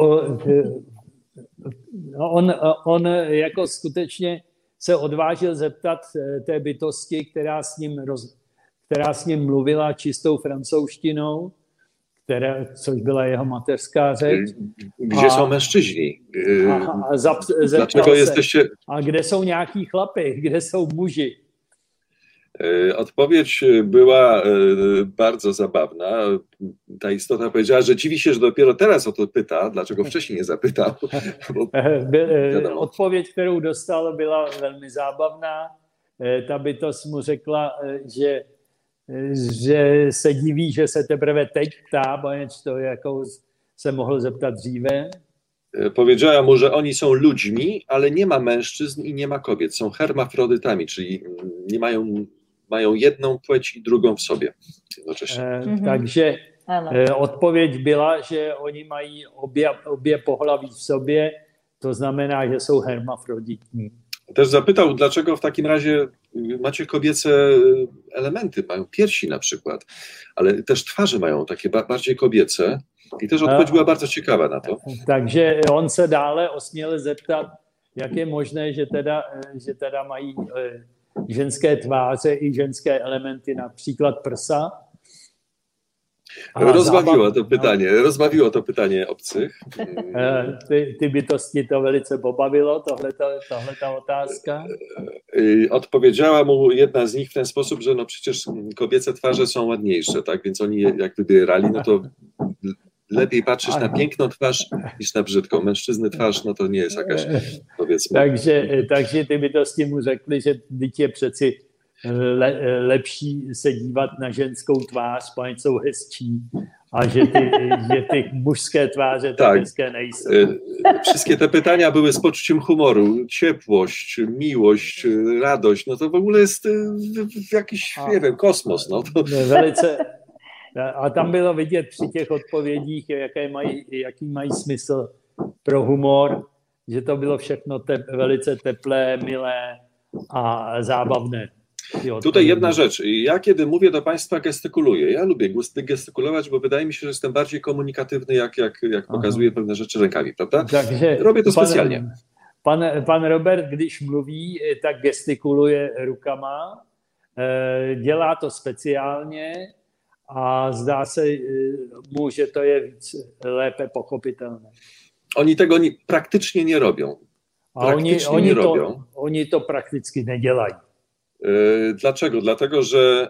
On, on jako skutečně se odvážil zeptat té bytosti, která s ním, roz, která s ním mluvila čistou francouzštinou, která, což byla jeho mateřská řeč. Gdzie są mężczyźni? A, a zap, Dlaczego se, jesteście... A kde jsou nějaký chlapy? Kde jsou muži? Odpowiedź była bardzo zabawna. Ta istota powiedziała, że dziwi się, że dopiero teraz o to pyta, dlaczego wcześniej nie zapytał. Bo, Odpověď, kterou dostal, byla velmi zábavná. Ta bytost mu řekla, že, že se diví, že se teprve teď ptá, poněvadž to jako se mohl zeptat dříve. Powiedziała mu, że oni są ludźmi, ale nie ma mężczyzn i nie ma kobiet. Są hermafrodytami, czyli nie mają, mają jedną płeć i drugą w sobie jednocześnie. E, mm-hmm. Takže e, odpověď byla, že oni mají obě, obě pohlaví v sobě, to znamená, że są hermafroditní. Też zapytał, dlaczego w takim razie macie kobiece elementy, mają piersi na przykład, ale też twarze mają takie bardziej kobiece. I też odpowiedź była bardzo ciekawa na to. Takže on se dále osměl zeptat, jak je možné, že teda, že teda mají ženské tváře i ženské elementy, například prsa. A rozbawiło zábav... to pytanie, no. rozbawiło to pytanie obcych. Ty, ty bytosti to velice pobavilo, tohleta, tohleta otázka. Odpowiedziała mu jedna z nich w ten sposób, że no przecież kobiece twarze są ładniejsze, tak? Więc oni jak wybierali, no to lepiej patrzysz na piękną twarz niż na brzydką. Mężczyzny twarz, no to nie jest jakaś, powiedzmy. Takže, takže ty bytosti mu řekli, že teď je přeci le, lepší se dívat na ženskou tvář, protože jsou hezčí, a že ty, že ty mužské twarze tak hezké nejsou. Wszystkie te pytania były z poczuciem humoru, ciepłość, miłość, radość, no to w ogóle jest jakiś, nie wiem, kosmos. No to... Velice, a tam bylo vidět při těch odpovědích, jaké mají, jaký mají smysl pro humor, že to bylo všechno te, velice teplé, milé a zábawne. Tutaj jedna rzecz. Ja kiedy mówię do Państwa, gestykuluję. Ja lubię gestykulować, bo wydaje mi się, że jestem bardziej komunikatywny, jak, jak, jak pokazuję pewne rzeczy rękami, prawda? Takže robię to specjalnie. Pan, pan, pan Robert, když mluví, tak gestikuluje rukama, dělá to speciálně a zdá se mu, že to je víc lépe pochopitelné. Oni tego nie, praktycznie nie robią. A oni, oni, nie to, robią. Oni to praktycznie nie dělají. Dlaczego? Dlatego, że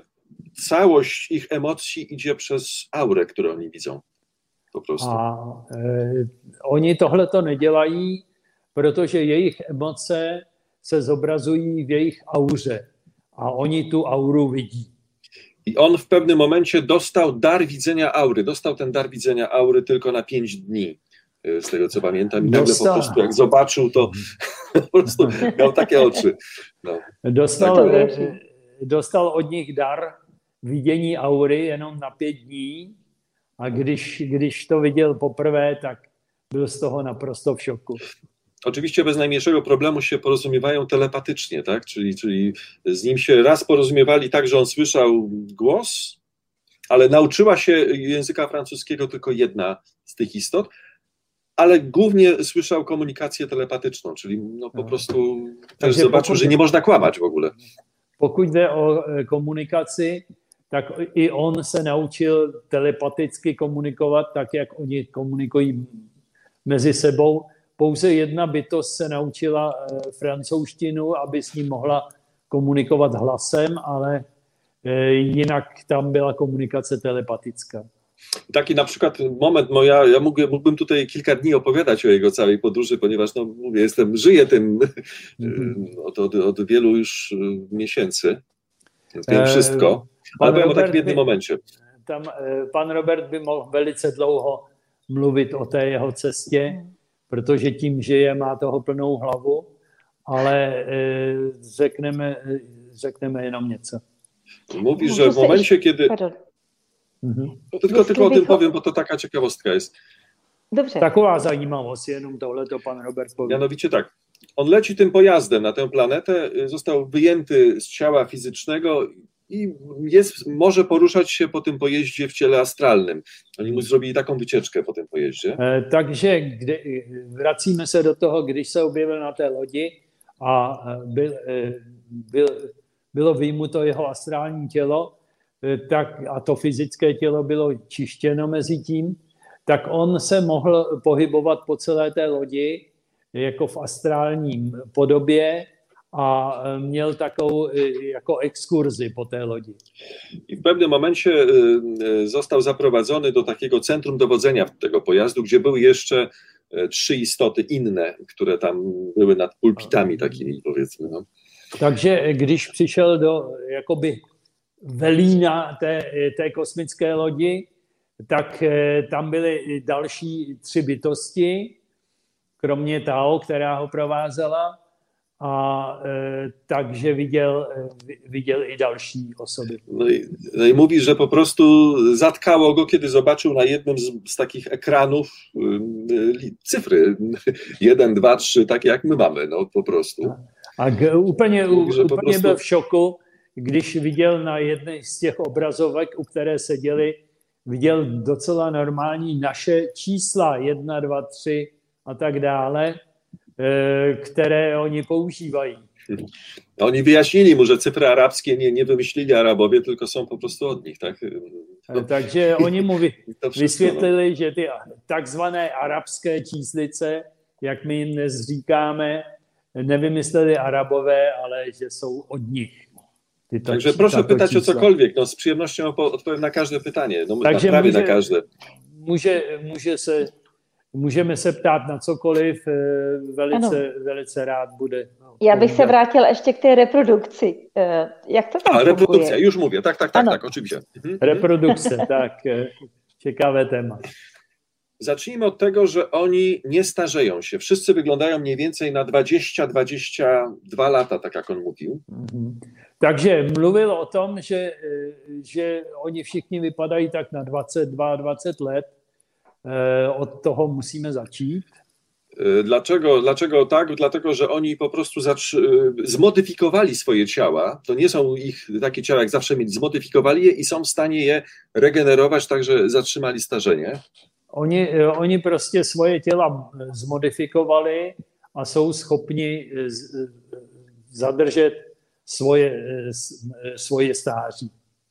całość ich emocji idzie przez aurę, którą oni widzą. Po prostu. A e, oni tohle to nedělají, protože jejich emoce se zobrazují v jejich auře. A oni tu auru widí. I on w pewnym momencie dostał dar widzenia aury. Dostał ten dar widzenia aury tylko na pięć dni. Z tego co pamiętam. I nagle po prostu jak zobaczył, to po prostu miał takie oczy. No. Dostal, dostal od nich dar vidění aury jenom na pět dní a když, když to viděl poprvé, tak byl z toho naprosto v šoku. Oczywiście bez najmniejszego problemu się porozumiewają telepatycznie, tak? Czyli, czyli z nim się raz porozumiewali tak, że on słyszał głos, ale nauczyła się języka francuskiego tylko jedna z tych istot, ale głównie słyszał komunikację telepatyczną, czyli no po prostu też Takže zobaczył, pokud, że nie można kłamać w ogóle. Pokud jde o komunikaci, tak i on se naučil telepaticky komunikovat, tak jak oni komunikují mezi sebou. Pouze jedna bytost se naučila francouzštinu, aby s ním mohla komunikovat hlasem, ale jinak tam byla komunikace telepatická. Taki na przykład moment, moja, ja mógłbym, mógłbym tutaj kilka dni opowiadać o jego całej podróży, ponieważ no, mówię, jestem, żyję tym mm-hmm. od, od, od wielu już miesięcy. Wiem wszystko, ale powiem o takim Robert jednym by, momencie. Tam pan Robert by mohl velice dlouho mluvit o té jeho cestě, protože tím žije, má toho plnou hlavu, ale řekneme, řekneme jenom něco. Mówi, że w momencie, kiedy... Mhm. Tylko, tylko o tym powiem, bo to taka ciekawostka jest. Dobře. Taková zajímavost, jenom tohle to pan Robert powie. Mianowicie tak, on leci tym pojazdem na tę planetę, został wyjęty z ciała fizycznego i jest, może poruszać się po tym pojeździe w ciele astralnym. Oni mu zrobili taką wycieczkę po tym pojeździe. E, takže kdy, vracíme se do toho, když se objevil na té lodi a byl, byl, bylo vyjmuto jeho astrální tělo, tak, a to fyzické tělo bylo čištěno mezi tím, tak on se mohl pohybovat po celé té lodi jako v astrálním podobě a měl takovou jako ekskurzi po té lodi. I w pewnym momencie został zaprowadzony do takiego centrum dowodzenia tego pojazdu, gdzie były jeszcze trzy istoty inne, które tam były nad pulpitami takimi, powiedzmy. No. Takže když přišel do jakoby velína té, té kosmické lodi, tak tam byly další tři bytosti, kromě Tao, která ho provázela, a e, takže viděl, viděl i další osoby. No i, no i mówi, że po prostu zatkało go, kiedy zobaczył na jednym z, z takich ekranów y, cyfry jeden, dwa, trzy, takie jak my mamy, no po prostu. A g, úplně, mówi, úplně po prostu... byl v šoku, když viděl na jedné z těch obrazovek, u které seděli, viděl docela normální naše čísla, jedna, dva, tři a tak dále, które oni používají. Oni wyjaśnili mu, że cyfry arabskie nie, nie wymyślili Arabowie, tylko są po prostu od nich, tak? No. Takže oni mu vy, wszystko, vysvětlili, no. že ty takzvané arabské číslice, jak my jim dnes říkáme, nevymysleli Arabové, ale že jsou od nich. Tyto, Także proszę pytać čísla. O cokolwiek, no z przyjemnością odpowiem na każde pytanie, no Takže prawie může, na każde. Může, může se Můžeme se ptát na cokoliv, velice, velice rád bude. Já bych se vrátil ještě k té reprodukci. Jak to tam A, funguje? reprodukcja, już mówię, tak, tak, tak, ano. tak, oczywiście. Mhm. Reprodukce, tak, ciekawe temat. Zacznijmy od tego, że oni nie starzeją się. Wszyscy wyglądają mniej więcej na dwadzieścia dwadzieścia dwa lata, tak jak on mówił. Mhm. Takže mluvil o tom, že, že oni všichni vypadají tak na dvacet dva dvacet let. Od toho musíme začít. Dlaczego, dlaczego tak? Dlatego, że oni po prostu zmodyfikowali swoje ciała. To nie są ich takie ciała, jak zawsze mieli. Zmodyfikowali je i są w stanie je regenerować, także zatrzymali starzenie. Oni, oni prostě svoje těla zmodifikovali a jsou schopni zadržet svoje, svoje stáří.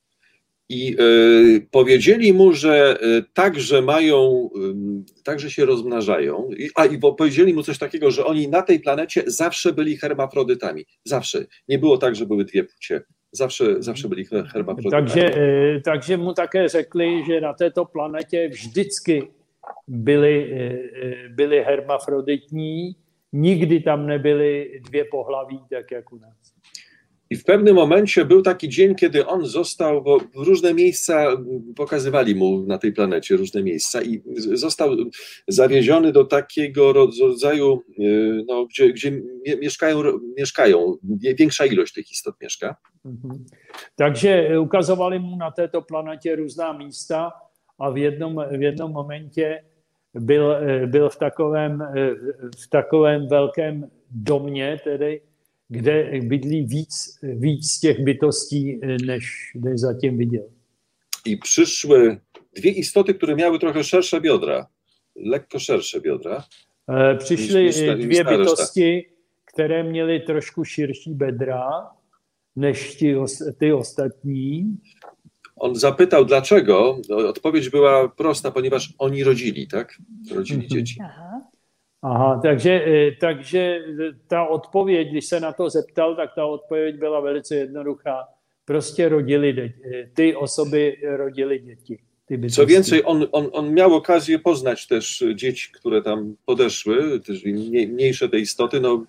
I y, powiedzieli mu, że y, także mają, y, także się rozmnażają. I, a i powiedzieli mu coś takiego, że oni na tej planecie zawsze byli hermafrodytami. Zawsze. Nie było tak, że były dwie płcie. Zawsze, zawsze byli hermafrodytami. Takže, y, takže mu také řekli, že na této planetě vždycky byli, y, byli hermafroditní. Nikdy tam nebyly dvě pohlaví, tak jak u nás. I w pewnym momencie był taki dzień, kiedy on został, bo różne miejsca pokazywali mu na tej planecie, różne miejsca i został zawieziony do takiego rodzaju, no, gdzie, gdzie mieszkają, mieszkają, większa ilość tych istot mieszka. Mhm. Takže ukazovali mu na této planetě různá místa a v jednom, v jednom momentě byl, byl v takovém, v takovém velkém domě, tedy kde bydlí víc, víc těch bytostí, než, než zatím viděl. I przyszły dwie istoty, które miały trochę szersze biodra, lekko szersze biodra. E, přišly dvě bytosti, které měly trošku širší bedra než ti, ty ostatní. On zapytał dlaczego. Odpowiedź była prosta, ponieważ oni rodzili, tak? Rodzili mhm. dzieci. Aha. Aha, takže, takže ta odpověď, když se na to zeptal, tak ta odpověď byla velice jednoduchá. Prostě rodili děti. Ty osoby rodili dzieci. Co więcej, on, on, on miał okazję poznać też dzieci, które tam podeszły, też mniejsze te istoty. No,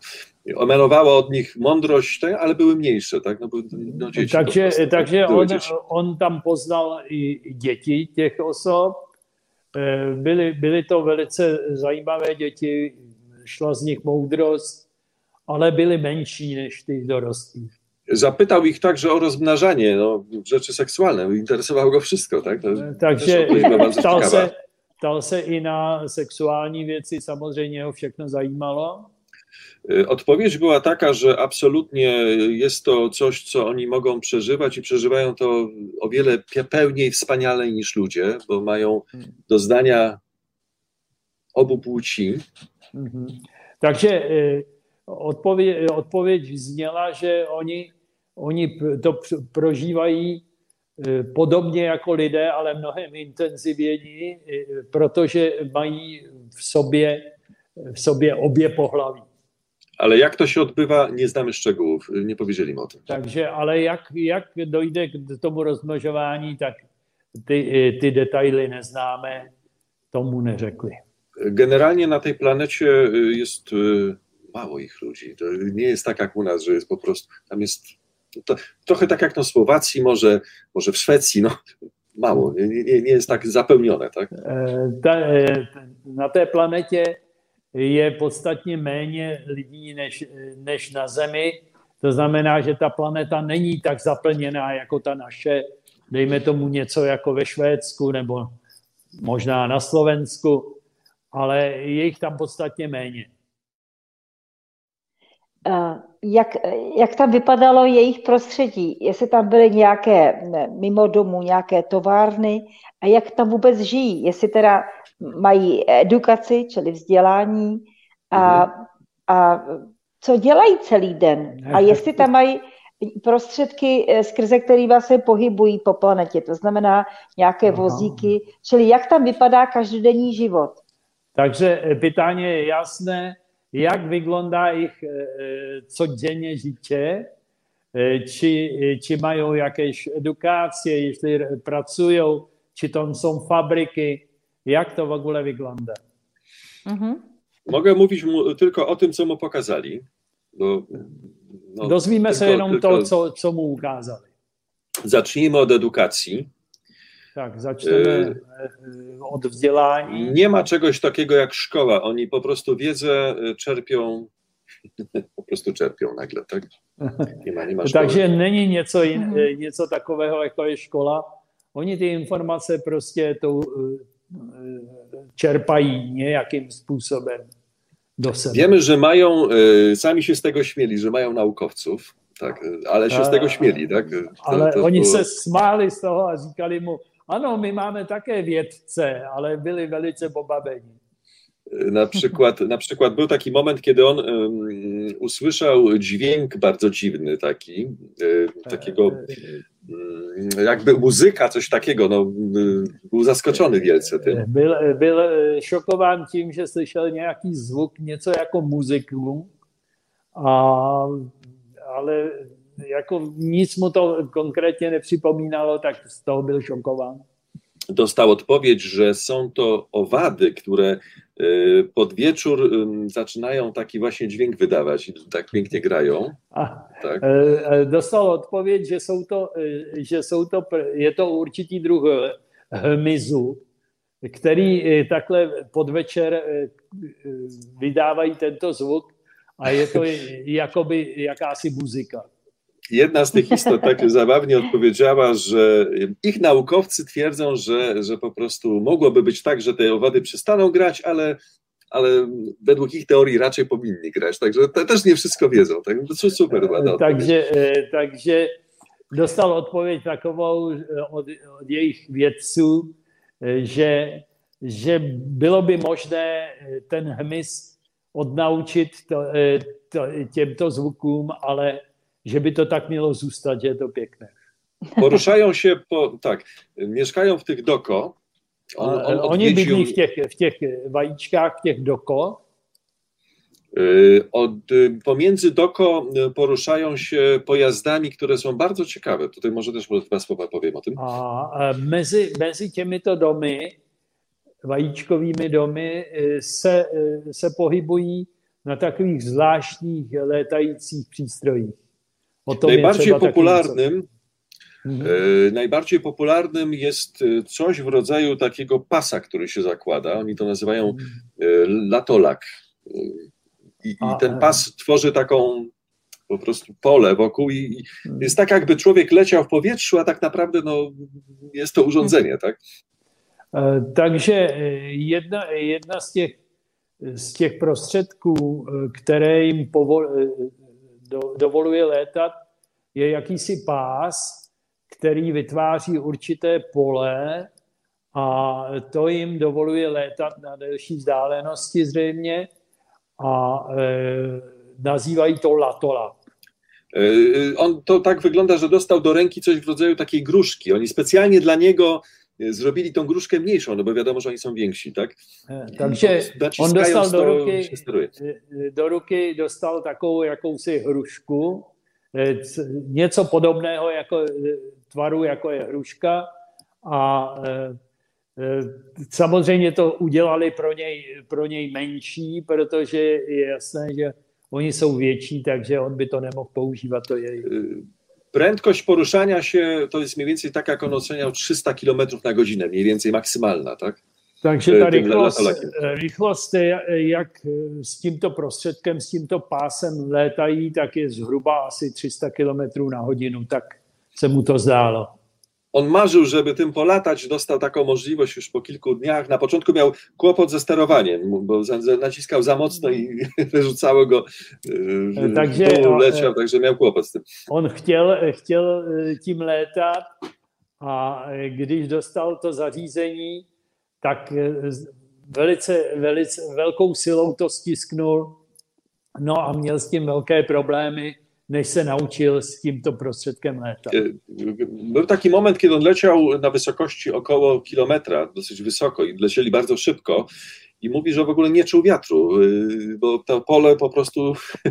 emanowała od nich mądrość, ale były mniejsze, tak? No, no, dzieci takže prostu, takže były on, dzieci. on tam poznal i děti těch osob. Byly, byly to velice zajímavé děti, šla z nich moudrost, ale byly menší než ty dorostlí. Zapytał ich także o rozmnażanie, no, rzeczy seksualne. Interesowało go wszystko, tak? To Takže bardzo ptal ciekawa. se, ptal se i na sexuální věci, samozřejmě ho všechno zajímalo. Odpowiedź była taka, że absolutnie jest to coś, co oni mogą przeżywać i przeżywają to o wiele pełniej, wspaniale niż ludzie, bo mają doznania obu płci. Mhm. Takže odpověď, odpověď zněla, že oni, oni to prožívají podobně jako lidé, ale mnohem intenzivněji, protože mají v sobě, v sobě obě pohlaví. Ale jak to się odbywa, nie znamy szczegółów, nie powiedzieli mi o tym. Takže, ale jak, jak dojde k tomu rozmnožování, tak ty, ty detaily neznáme, tomu neřekli. Generalnie na tej planecie jest mało ich ludzi. To nie jest tak jak u nas, że jest po prostu, tam jest to, trochę tak jak na Słowacji, może, może w Szwecji, no mało, nie, nie, nie jest tak zapełnione, tak? Ta, na té planetě je podstatně méně lidí než, než na Zemi. To znamená, že ta planeta není tak zaplněná jako ta naše, dejme tomu něco jako ve Švédsku nebo možná na Slovensku, ale je jich tam podstatně méně. Jak, jak tam vypadalo jejich prostředí? Jestli tam byly nějaké mimo domu, nějaké továrny a jak tam vůbec žijí? Jestli teda mají edukaci, čili vzdělání a, a co dělají celý den? A jestli tam mají prostředky, skrze které se pohybují po planetě, to znamená nějaké vozíky, čili jak tam vypadá každodenní život? Takže pytanie je jasné, jak vygląda ich codziennie życie, czy, czy mają jakieś edukacje, jeśli pracują, czy tam są fabryki, jak to w ogóle wygląda? Mhm. Mogę mówić mu tylko o tym, co mu pokazali. Bo, no, Dozwíme se jenom tylko, to, co, co mu ukázali. Zacznijmy od edukacji. Tak, zaczniemy od vzdělání. Nie ma czegoś takiego jak szkoła. Oni po prostu wiedzę czerpią, po prostu czerpią nagle, tak? Nie ma, nie ma szkoły. Takže není něco, in, něco takového, jako je škola. Oni ty informace prostě to čerpají nějakým způsobem do sebe. Wiemy, że mają, sami się z tego śmieli, że mają naukowców, tak, ale się z tego śmieli, tak? To, ale to oni było... se smáli z toho a říkali mu, ano, my máme také vědce, ale byli velice pobaveni. Na przykład, na przykład był taki moment, kiedy on um, usłyszał dźwięk bardzo dziwny taki, y, takiego um, jakby muzyka, coś takiego, no, y, był zaskoczony wielce tym. Byl, byl šokován tím, že slyšel nějaký zvuk, něco jako muziku, a, ale jako nic mu to konkrétnie nepřipomínalo, tak z toho byl šokován. Dostał odpowiedź, że są to owady, które pod wieczór zaczynają taki właśnie dźwięk wydawać i tak pięknie grają. A, tak. Dostal odpověď, že jsou to, že jsou to, je to určitý druh hmyzu, který takhle podvečer vydávají tento zvuk a je to jakoby jakási muzika. Jedna z tych istot tak zabawnie odpowiedziała, że ich naukowcy twierdzą, że, że po prostu mogłoby być tak, że te owady przestaną grać, ale, ale według ich teorii raczej powinni grać. Także te też nie wszystko wiedzą. Tak? To super ładna takže, takže dostal odpověď takovou od, od jejich vědců, že, že bylo by možné ten hmyz odnaučit to, to, těmto zvukům, ale že by to tak mělo zůstat, že je to pěkné. Poruszają się, po, tak, mieszkają w tych doko. On, on Oni odwiedził, bydlí v těch, v těch vajíčkách, v těch doko. Od, pomiędzy doko poruszają się pojazdami, które są bardzo ciekawe. Tutaj może też dwa słowa powiem o tym. A mezi, mezi těmito domy, vajíčkovými domy, se, se pohybují na takových zvláštních létajících přístrojích. O tom Najbardziej popularnym, mhm. e, najbardziej popularnym jest coś w rodzaju takiego pasa, który się zakłada. Oni to nazywają e, latolak. I, i ten pas tworzy taką po prostu pole wokół i, i jest tak, jakby człowiek leciał w powietrzu, a tak naprawdę no, jest to urządzenie, tak? E, takže jedna, jedna z těch, z těch prostředků, které jim povol, do, dovoluje létat, je jakýsi pás, který vytváří určité pole a to jim dovoluje létat na delší vzdálenosti zřejmě a e, nazývají to latola. On to tak wygląda, że dostał do ręki coś w rodzaju takiej gruszki. Oni specjalnie dla niego zrobili tą gruszkę mniejszą, no bo wiadomo, że oni są więksi, tak? Takže on dostal do ruky, do ruky dostal takovou jakousi hrušku, něco podobného jako tvaru, jako je hruška a samozřejmě to udělali pro něj, pro něj menší, protože je jasné, že oni jsou větší, takže on by to nemohl používat. To je... Prędkość poruszania się to jest mniej więcej tak, jak on oceniał trzysta kilometrów na godzinę, mniej więcej maksymalna, tak? Takže ta rychlost, rychlost, jak s tímto prostředkem, s tímto pásem létají, tak je zhruba asi tři sta kilometrů na hodinu, tak se mu to zdálo. On marzył, żeby tym polatać, dostał taką możliwość już po kilku dniach. Na początku miał kłopot ze sterowaniem, bo naciskał za mocno i wyrzucało go, takže, leciał, także miał kłopot z tym. On chtěl, chtěl tím létat a když dostal to zařízení, tak velice, velice velkou silou to stisknul, no a měl s tím velké problémy, než se naučil z tímto prostředkem létat. Był taki moment, kiedy on leciał na wysokości około kilometra, dosyć wysoko i lecieli bardzo szybko i mówi, że w ogóle nie czuł wiatru, bo to pole po prostu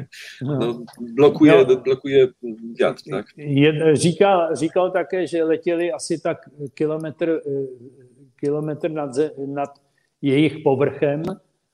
no, blokuje, no, blokuje wiatr. Tak? Je, říkal, říkal také, že letěli asi tak kilometr, kilometr nad, nad jejich povrchem,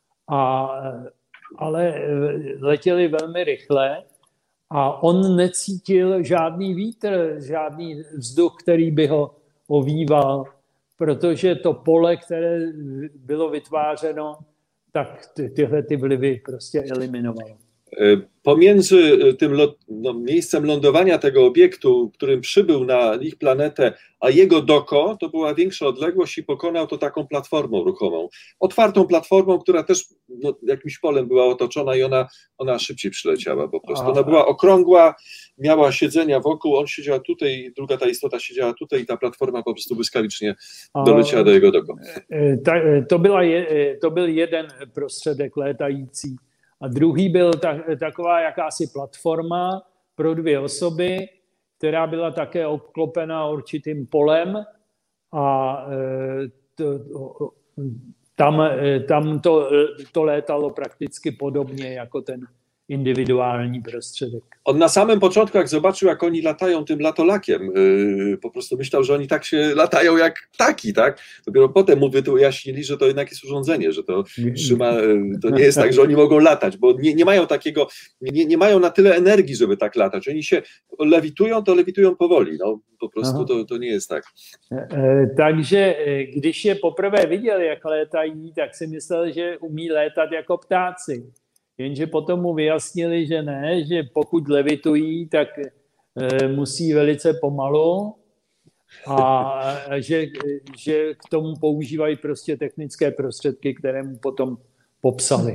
a, ale letěli velmi rychle. A on necítil žádný vítr, žádný vzduch, který by ho ovýval, protože to pole, které bylo vytvářeno, tak ty, tyhle ty vlivy prostě eliminovalo. Pomiędzy tym lot, no, miejscem lądowania tego obiektu, którym przybył na ich planetę, a jego doko, to była większa odległość i pokonał to taką platformą ruchomą. Otwartą platformą, która też no, jakimś polem była otoczona i ona, ona szybciej przyleciała po prostu. Ona była okrągła, miała siedzenia wokół, on siedział tutaj, druga ta istota siedziała tutaj i ta platforma po prostu błyskawicznie doleciała do jego doko. To, byla je, to byl jeden prostředek létající. A druhý byl tak, taková jakási platforma pro dvě osoby, která byla také obklopena určitým polem a to, tam, tam to, to létalo praktycky podobně jako ten indywiduální prostředek. On na samym początku, jak zobaczył, jak oni latają tym latolakiem, yy, po prostu myślał, że oni tak się latają jak ptaki, tak? Dopiero potem mu wyjaśnili, że to jednak jest urządzenie, że to trzyma, to nie jest tak, że oni mogą latać, bo nie, nie mają takiego, nie, nie mają na tyle energii, żeby tak latać. Oni się lewitują, to lewitują powoli, no po prostu to, to nie jest tak. Takže když je poprvé viděl, jak létají, tak si myslel, že umí létat jako ptáci. Jenže potom mu vyjasnili, že ne, že pokud levitují, tak e, musí velice pomalu a že, že k tomu používají prostě technické prostředky, které mu potom popsali.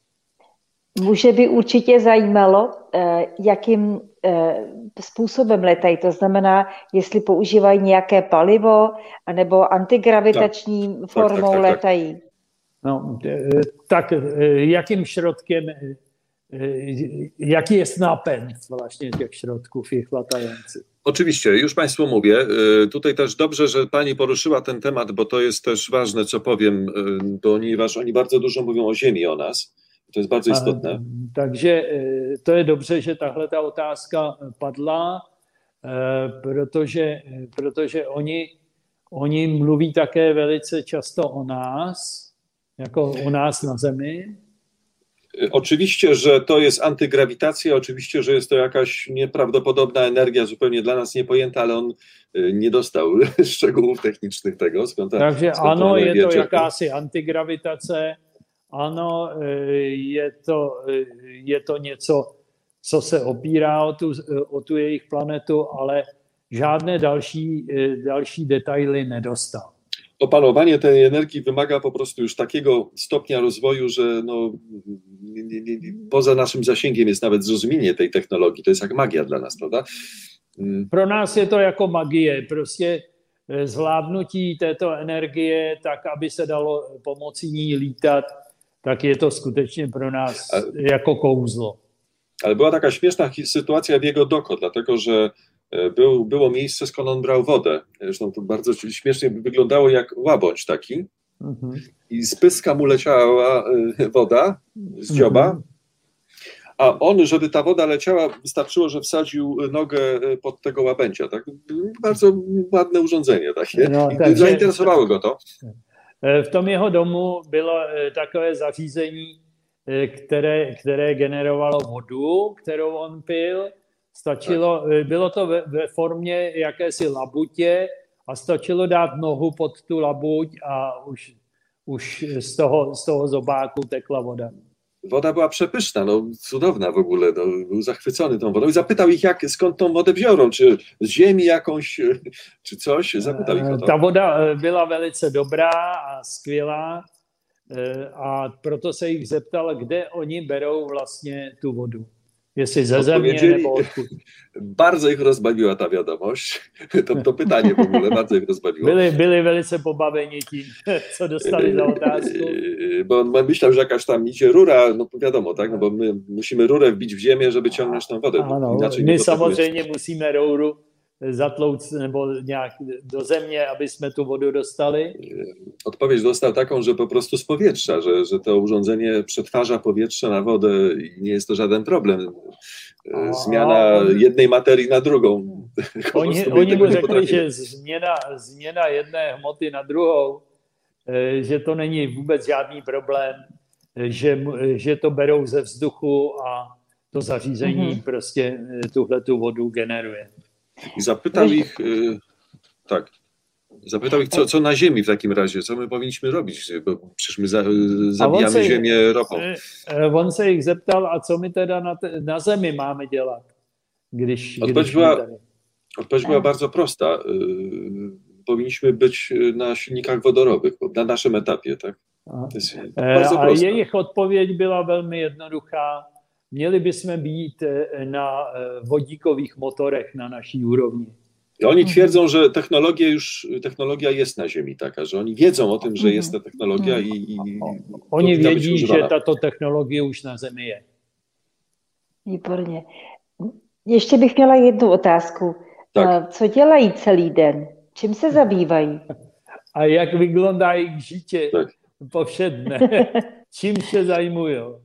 Muže by určitě zajímalo, e, jakým e, způsobem letají. To znamená, jestli používají nějaké palivo, anebo antigravitační tak, formou tak, tak, tak, letají. Tak. No, tak jakým środkiem, jaki jest napęd właśnie tych środków ich latających? Oczywiście, już Państwu mówię. Tutaj też dobrze, że Pani poruszyła ten temat, bo to jest też ważne, co powiem, ponieważ oni bardzo dużo mówią o Ziemi, o nas. To jest bardzo istotne. A, takže to je dobře, že tahle ta otázka padla, protože, protože oni, oni mluví také velice často o nás, jako u nás na Zemi. Oczywiście, że to jest antygrawitacja, oczywiście, że jest to jakaś nieprawdopodobna energia, zupełnie dla nas niepojęta, ale on nie dostał szczegółów technicznych tego, skąd ta, Takže skąd ano, je to czerpie. jakási antigravitace, ano, je to, je to něco, co se opírá o tu, o tu jejich planetu, ale žádné další, další detaily nedostal. Opanowanie tej energii wymaga po prostu już takiego stopnia rozwoju, że no, nie, nie, nie, poza naszym zasięgiem jest nawet zrozumienie tej technologii. To jest jak magia dla nas, prawda? Pro nás je to jako magie, prostě zvládnutí této energie tak, aby se dalo pomocí ní lítat, tak je to skutečně pro nás ale, jako kouzlo. Ale była taka śmieszna sytuacja w jego doko, dlatego że Był, było miejsce, skąd on brał wodę. Zresztą to bardzo śmiesznie wyglądało jak łabędź taki. Mm-hmm. I z pyska mu leciała woda z dzioba. Mm-hmm. A on, żeby ta woda leciała, wystarczyło, że wsadził nogę pod tego łabędzia. Tak? Bardzo ładne urządzenie takie. No, I zainteresowało go to. W tom jeho domu bylo takové zařízení, které, které generovalo vodu, kterou on pil. Stačilo, bylo to ve, ve formě jakési labutě a stačilo dát nohu pod tu labuť a už, už z, toho, z toho zobáku tekla woda. Woda była przepyszna, no cudowna w ogóle, no, był zachwycony tą wodą i zapytał ich, jak, skąd tą wodę biorą, czy z ziemi jakąś, czy coś, zapytał ich o to. Ta woda byla velice dobrá a skvělá a proto se jich zeptal, kde oni berou vlastně tu vodu. Jestli ze země nebo odkud. Bardzo ich rozbawiła ta wiadomość, to, to pytanie w ogóle bardzo ich rozbawiło. Byli, byli velice pobaveni tím, co dostali za otázku. Bo on myślał, że jakaś tam idzie rura, no wiadomo, tak, no bo my musimy rurę wbić w ziemię, żeby ciągnąć tą wodę. Ano, my samozřejmě musíme rouru zatlouc nebo nějak do země, aby jsme tu vodu dostali. Odpowiedź dostał taką, że po prostu z powietrza, że, że to urządzenie przetwarza powietrze na wodę i nie jest to żaden problem. Zmiana jednej materii na drugą. Oni, oni mu řekli, že změna, změna jedné hmoty na druhou, že to není vůbec žádný problém, že, že to berou ze vzduchu a to zařízení mhm. prostě tuhletu vodu generuje. I zapytał ich, tak, zapytał ich, co, co na ziemi w takim razie, co my powinniśmy robić, bo przecież my za, zabijamy se, ziemię ropą. On se ich zeptal, a co my teda na, te, na zemi máme dělat? Když, odpowiedź když była, odpowiedź była bardzo prosta. Powinniśmy być na silnikach wodorowych, na naszym etapie, tak? A, a jejich odpověď byla velmi jednoduchá. Měli bychom být na vodíkových motorech na naší úrovni. I oni twierdzą, że technologia już, technologia jest na Ziemi taka, że oni wiedzą o tym, że jest ta technologia i, i oni vědí, že tato technologie už na Zemi je. Výborně. Ještě bych měla jednu otázku. Tak. Co dělají celý den? Čím se zabývají? A jak vygląda jejich życie tak. powszedne? Czym się zajmują?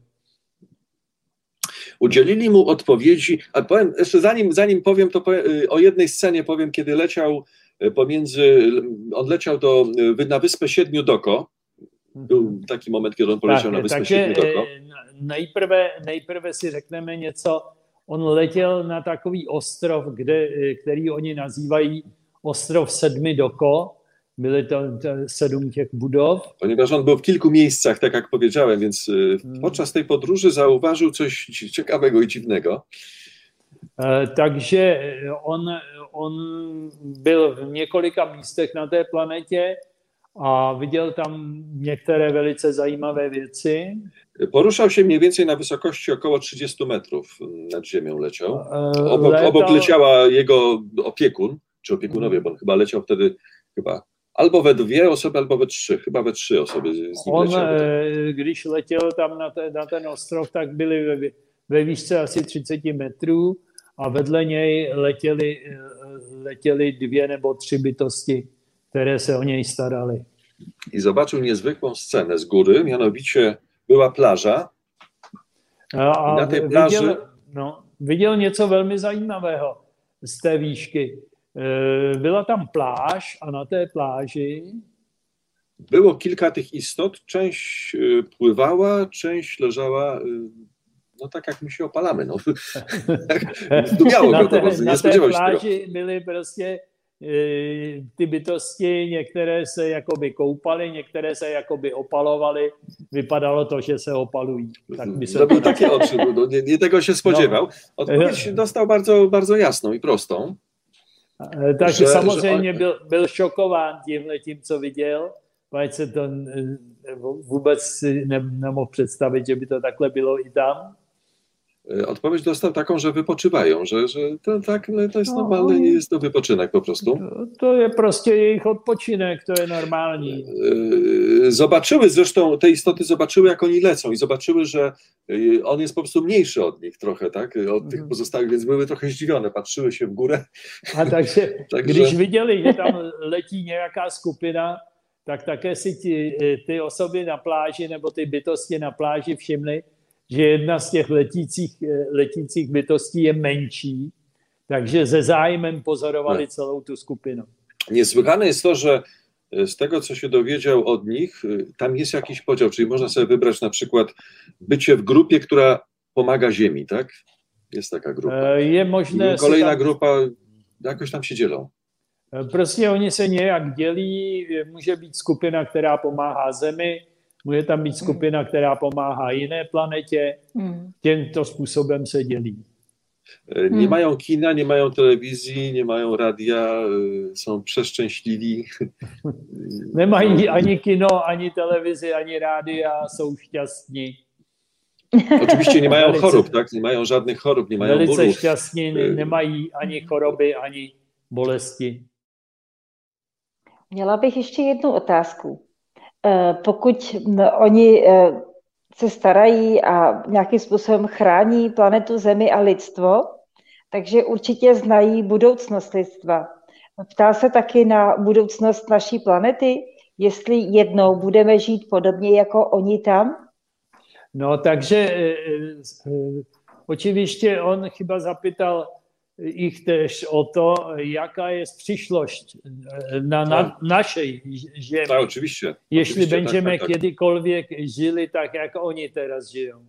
Udzielili mu odpowiedzi, a powiem, jeszcze zanim, zanim powiem, to powiem, o jednej scenie powiem, kiedy leciał pomiędzy, on leciał do, na Wyspę Siedmiu Doko. Był taki moment, kiedy on poleciał tak, na Wyspę takže, Siedmiu Doko. Nejprve, nejprve si řekneme něco, on letěl na takový ostrov, kde, který oni nazývají ostrov Sedmi Doko. Byly to, to sedm těch budov. Ponieważ on był w kilku miejscach, tak jak powiedziałem, więc hmm. podczas tej podróży zauważył coś ciekawego i dziwnego. E, takže on, on byl v několika místech na té planetě a viděl tam některé velice zajímavé věci. Poruszał się mniej więcej na wysokości około trzydziestu metrów nad ziemią leciał. Obok, Letal... obok leciała jego opiekun, czy opiekunowie, bo on chyba leciał wtedy chyba albo we dwie osoby, albo we trzy. Chyba we trzy osoby z nim On, leciały. Když letěl tam na, te, na ten ostrov, tak byli ve, ve výšce asi třicet metrů a vedle něj letěli, letěli dvě nebo tři bytosti, které se o něj staraly. I zobaczył niezwykłą scenę z góry, mianowicie była plaża. A, a na tej plaży... Viděl, no, viděl něco velmi zajímavého z té výšky. Byla tam pláž a na té pláži było kilka tych istot, część pływała, część leżała, no tak jak my się opalamy. No. Tu miało na go té, to, na nie té spodziewał się pláži tego. byly prostě ty bytosti, některé se jakoby koupaly, některé se jakoby opalovaly. Vypadalo to, že se opalují. Tak by se Zrobił takie oczy, no, nie, nie tego się spodziewał. Odpowiedź No. dostał bardzo, bardzo jasną i prostą. Takže že, samozřejmě že on... byl, byl šokován tímhletím, co viděl. Pač se to vůbec si ne, nemohl představit, že by to takhle bylo i tam. Odpowiedź dostał taką, że wypoczywają, że, że to, tak, to jest no, normalne, nie jest to wypoczynek po prostu. To, to je prostě jejich odpočinek, to je normální. Zobaczyły zresztą, te istoty zobaczyły, jak oni lecą i zobaczyły, że on jest po prostu mniejszy od nich trochę, tak, od tych pozostałych, więc były trochę zdziwione, patrzyły się w górę. A takže, takže... když viděli, že tam letí nějaká skupina, tak také si ty, ty osoby na pláži nebo ty bytosti na pláži všimly, že jedna z těch letících, letících bytostí je menší, takže ze zájmem pozorovali no. celou tu skupinu. Niesłychane jest to, że z tego, co się dowiedział od nich, tam jest jakiś podział, czyli można sobie wybrać na przykład bycie w grupie, która pomaga Ziemi, tak? Jest taka grupa. Je možné kolejna tam... grupa, jakoś tam się dzielą. Prostě oni se nějak dělí, může být skupina, která pomáhá Zemi, může tam být skupina, která pomáhá jiné planetě. Tímto způsobem se dělí. Nie mają kina, nie mają telewizji, nie mają radia, są przeszczęśliwi. Nemají ani kino, ani televizi, ani rádia, jsou šťastní. Oczywiście nie mają chorób, tak? Nie mają żadnych chorób, nie mają bólů. Velice šťastní, nemají ani choroby, ani bolesti. Měla bych ještě jednu otázku. Pokud oni se starají a nějakým způsobem chrání planetu Zemi a lidstvo, takže určitě znají budoucnost lidstva. Ptá se taky na budoucnost naší planety, jestli jednou budeme žít podobně jako oni tam? No, takže očiviště on chyba zapýtal ich tež o to, jaká jest przyszłość na, na naszej ziemi. Tak, oczywiście. Jeśli oczywiście, będziemy tak, tak, tak. kiedykolwiek żyli tak, jak oni teraz żyją.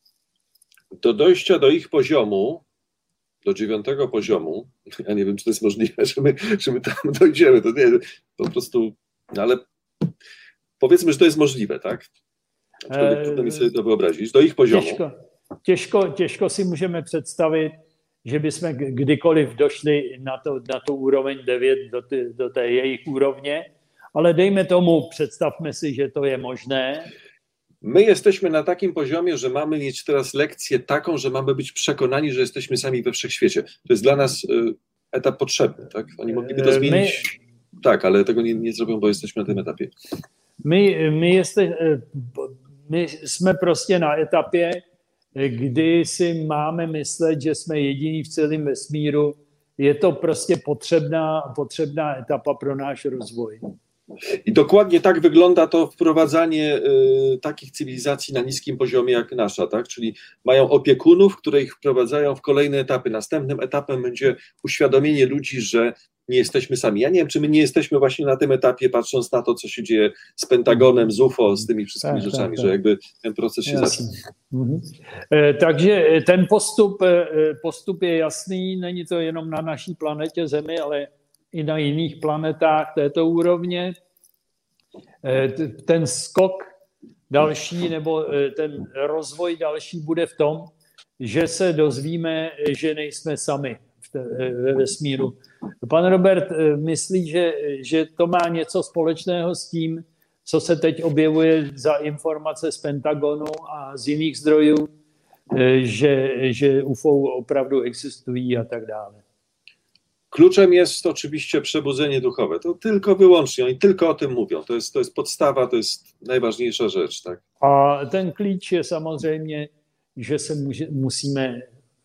Do dojścia do ich poziomu, do dziewiątego poziomu, ja nie wiem, czy to jest możliwe, że my, że my tam dojdziemy, to nie, po prostu, ale powiedzmy, że to jest możliwe, tak? Aczkolwiek trudno mi sobie to wyobrazić. Do ich poziomu. Těžko, těžko, těžko si můžeme představit, že bychom kdykoliv došli na, to, na tu úroveň devět, do, ty, do té jejich úrovně, ale dejme tomu, představme si, že to je možné. My jesteśmy na takim poziomie, że mamy mieć teraz lekcję taką, że mamy być przekonani, że jesteśmy sami we wszechświecie. To jest dla nas etap potrzebny, tak? Oni mogliby to zmienić, my, tak, ale tego nie, nie zrobią, bo jesteśmy na tym etapie. My, my, jeste, my jsme prostě na etapě, kdy si máme myslet, že jsme jediní v celém vesmíru. Je to prostě potřebná, potřebná etapa pro náš rozvoj. I dokładnie tak wygląda to wprowadzanie y, takich cywilizacji na niskim poziomie jak nasza, tak? Czyli mają opiekunów, które ich wprowadzają w kolejne etapy. Następnym etapem będzie uświadomienie ludzi, że nie jesteśmy sami. Ja nie wiem, czy my nie jesteśmy właśnie na tym etapie, patrząc na to, co się dzieje z Pentagonem, z U F O, z tymi wszystkimi tak, rzeczami, tak, tak. że jakby ten proces się zaczyna. Mhm. E, takže ten postup, postup je jasný, není to jenom na naší planetě Zemi, ale i na jiných planetách této úrovně. E, ten skok další, nebo ten rozvoj další bude v tom, že se dozvíme, že nejsme sami ve vesmíru. Pan Robert myslí, že, že to má něco společného s tím, co se teď objevuje za informace z Pentagonu a z jiných zdrojů, že, že U F O opravdu existují a tak dále. Kluczem jest oczywiście przebudzenie duchowe. To tylko wyłącznie, oni tylko o tym mówią. To jest, to jest podstawa, to jest najważniejsza rzecz. Tak? A ten klíč je samozřejmě, že se může, musíme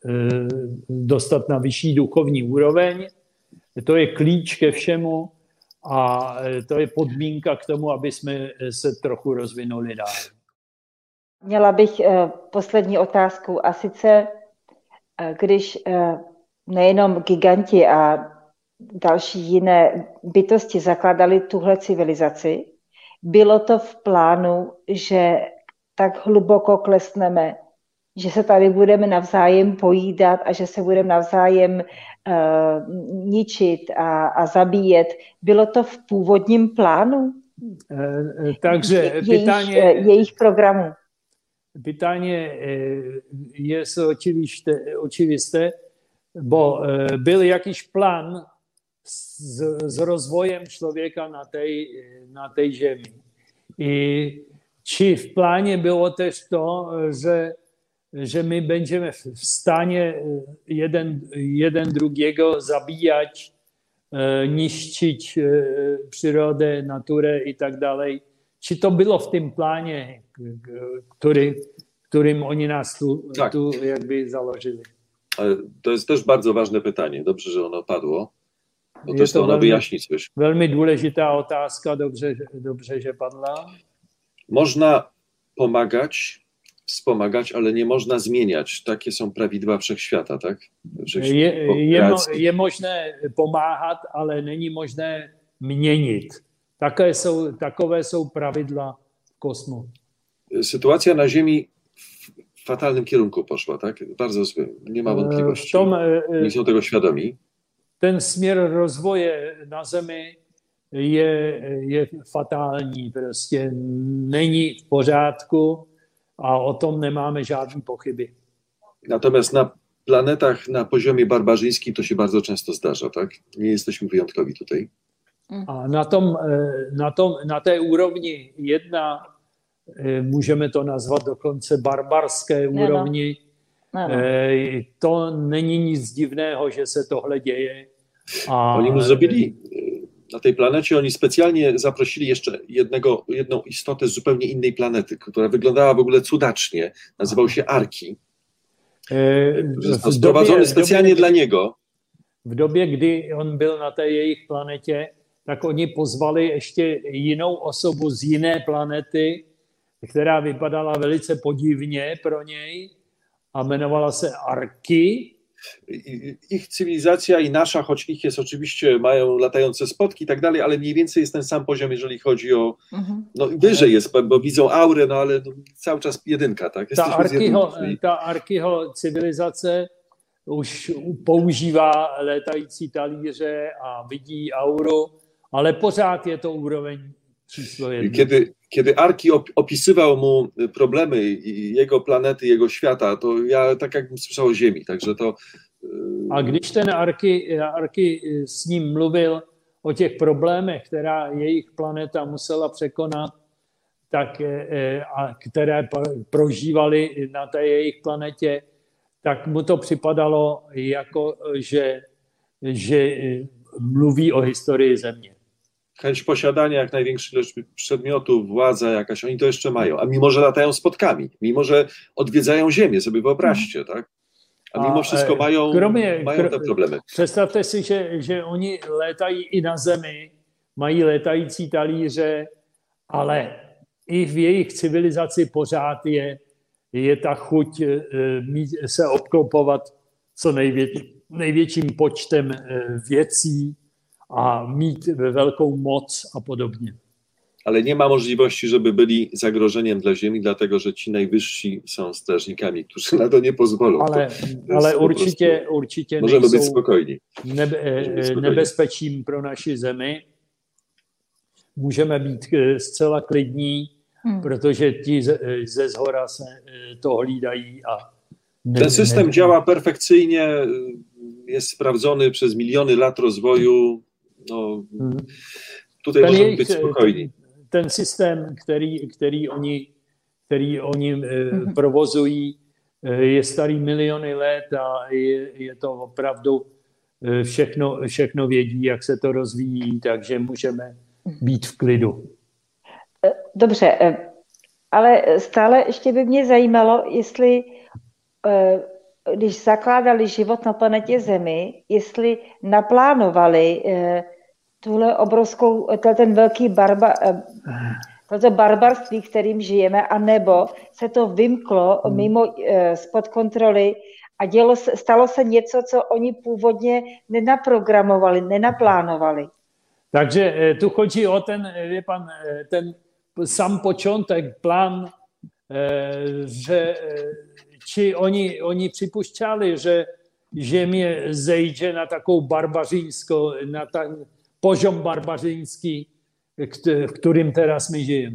dostat na vyšší duchovní úroveň. To je klíč ke všemu a to je podmínka k tomu, aby jsme se trochu rozvinuli dál. Měla bych poslední otázku a sice, když nejenom giganti a další jiné bytosti zakládali tuhle civilizaci, bylo to v plánu, že tak hluboko klesneme, že se tady budeme navzájem pojídat a že se budeme navzájem uh, ničit a, a zabíjet. Bylo to v původním plánu? E, takže Je, pytanie, jejich, jejich programu. Pytanie je očivisté, bo byl jakýž plán s, s rozvojem člověka na té na tej zemi. I či v pláně bylo tež to, že, že my budeme v stane jeden, jeden drugiego zabíjať, niszczyć przyrodę, naturę i tak dalej. Czy to było w tym planie, który, którym oni nas tu, tak. tu jakby założyli? To jest też bardzo ważne pytanie. Dobrze, że ono padło, bo też to ono velmi, wyjaśni coś. Velmi důležitá otázka, dobře, dobře, že padla. Można pomagać, wspomagać, ale nie można zmieniać. Takie są prawidła wszechświata, tak? Wszechświat, je, je, je možné pomáhat, ale není možné měnit. Také jsou, takové jsou pravidla w kosmu. Sytuacja na Ziemi w fatalnym kierunku poszła, tak? Bardzo złym, nie ma wątpliwości. Tom, nie są tego świadomi. Ten směr rozvoje na Zemi je, je fatální, prostě není v pořádku a o tom nemáme žádné pochyby. Natomiast na planetach na poziomie barbarzyńskim to się bardzo często zdarza, tak? Nie jesteśmy wyjątkowi tutaj. A na, tom, na, tom, na té úrovni jedna, můžeme to nazvat dokonce barbarské úrovni, no, no. To není nic divného, že se tohle děje. A... Oni mu zrobili na tej planecie, oni specjalnie zaprosili jeszcze jednego, jedną istotę z zupełnie innej planety, która wyglądała w ogóle cudacznie. Nazywał się Arki. Został sprowadzony specjalnie dla niego. V době, kdy on byl na té jejich planetě, tak oni pozvali ještě jinou osobu z jiné planety, která vypadala velice podivně pro něj a jmenovala se Arki. Ich cywilizacja i nasza, choć ich jest oczywiście, mają latające spotki i tak dalej, ale mniej więcej jest ten sam poziom, jeżeli chodzi o, no wyżej jest, bo widzą aurę, no ale cały czas jedynka, tak? Ta Arkiho, ta Arkiho cywilizace už používá létající talíře a vidí auru, ale pořád je to úroveň číslo jedna. Kiedy, kiedy Arki opisywał mu problemy jego planety, jego świata, to ja tak jakbym słyszał o Ziemi, także to... A když ten Arki, Arki s ním mluvil o těch problémech, která jejich planeta musela překonat, tak, a které prožívali na té jejich planetě, tak mu to připadalo jako, že, že mluví o historii Země. Chęć posiadania jak największej ilości przedmiotów, władza jakaś, oni to jeszcze mają, a mimo, że latają spotkami, mimo, że odwiedzają Ziemię, sobie wyobraźcie, tak? A mimo wszystko mają, kromě, mają te problemy. Představte si, že, že oni létají i na Zemi, mají létající talíře, ale i v jejich civilizaci pořád je, je ta chuť mít, se obklopovat co největší, největším počtem věcí a mít velkou moc a podobnie. Ale nie ma możliwości, żeby byli zagrożeniem dla Ziemi, dlatego że ci najwyżsi są strażnikami, którzy na to nie pozwolą. Ale, to, to ale určitě, určitě możemy być spokojni. Nebe, nebezpečím pro naši Zemi. Můžeme být zcela klidní, hmm. protože ti ze, ze zhora se to hlídají. A ne, Ten system ne, działa perfekcyjnie, jest sprawdzony przez miliony lat rozwoju. No, hmm. Tutaj ten możemy jejich, być spokojni. Ten, ten systém, který, který oni, který oni hmm. provozují, je starý miliony let a je, je to opravdu všechno, všechno vědí, jak se to rozvíjí, takže můžeme být v klidu. Dobře, ale stále ještě by mě zajímalo, jestli, když zakládali život na planetě Zemi, jestli naplánovali tuhle obrovskou, ten velký barba, toto barbarství, kterým žijeme, anebo se to vymklo mimo spod kontroly a dělo, stalo se něco, co oni původně nenaprogramovali, nenaplánovali. Takže tu chodí o ten, je pan, ten sam początek, plan, że ci oni, oni przypuszczali, że Ziemia zejdzie na taką barbarzyńską, na ten poziom barbarzyński, w którym teraz my żyjemy.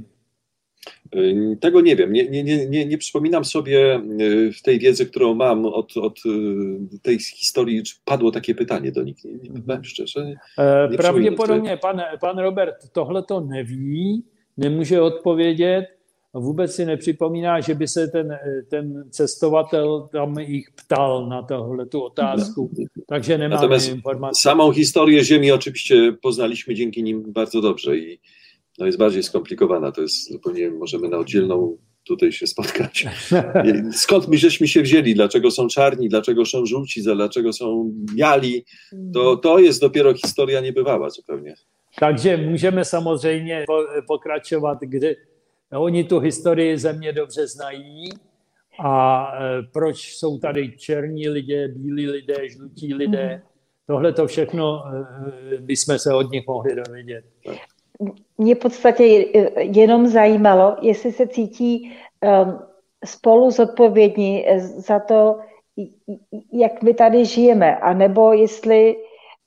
Tego nie wiem, nie, nie, nie, nie przypominam sobie w tej wiedzy, którą mam od, od tej historii, czy padło takie pytanie do nich, nie, nie powiem szczerze. Nie Pravděpodobně pan, pan Robert tohle to neví, nemůže odpovědět, vůbec si nepřipomíná, že by se ten, ten cestovatel tam ich ptal na tohle tu otázku, takže nemáme Natomiast informacji. Samą historię Ziemi oczywiście poznaliśmy dzięki nim bardzo dobrze i no jest bardziej skomplikowana, to jest zupełnie, możemy na oddzielną tutaj się spotkać. Skąd my żeśmy się wzięli, dlaczego są czarni, dlaczego są żółci, dlaczego są biali, to, to jest dopiero historia niebywała zupełnie. Takže můžeme samozřejmě pokračovat, kde oni tu historii země dobře znají a proč jsou tady černí lidé, bílí lidé, žlutí lidé. Tohle to všechno bychom se od nich mohli dovědět. Mě v podstatě jenom zajímalo, jestli se cítí um, spolu zodpovědní za to, jak my tady žijeme, anebo jestli,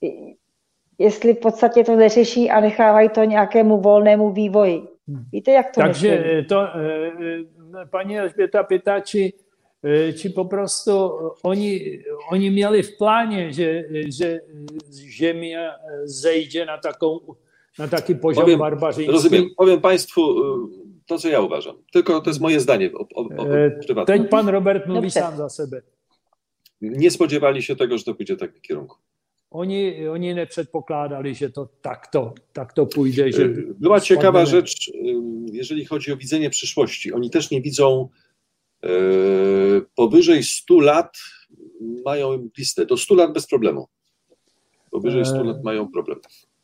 jestli v podstatě to neřeší a nechávají to nějakému volnému vývoji. Víte, jak to Takže myslím? to, paní Elžběta pýtá, či, či poprostu oni, oni měli v pláně, že, že Ziemia zejdzie na taką na taki poziom powiem, barbarzyński. Rozumiem. Powiem Państwu to, co ja uważam. Tylko to jest moje zdanie o, o, o, prywatne. Teď pan Robert mówi sam za sebe. Nie spodziewali się tego, że to pójdzie w takim kierunku. Oni, oni nepředpokládali, że to takto, takto pójdzie. Że Była ciekawa rzecz, jeżeli chodzi o widzenie przyszłości. Oni też nie widzą e, powyżej stu lat mają listę. Do stu lat bez problemu. Powyżej stu lat mają problem.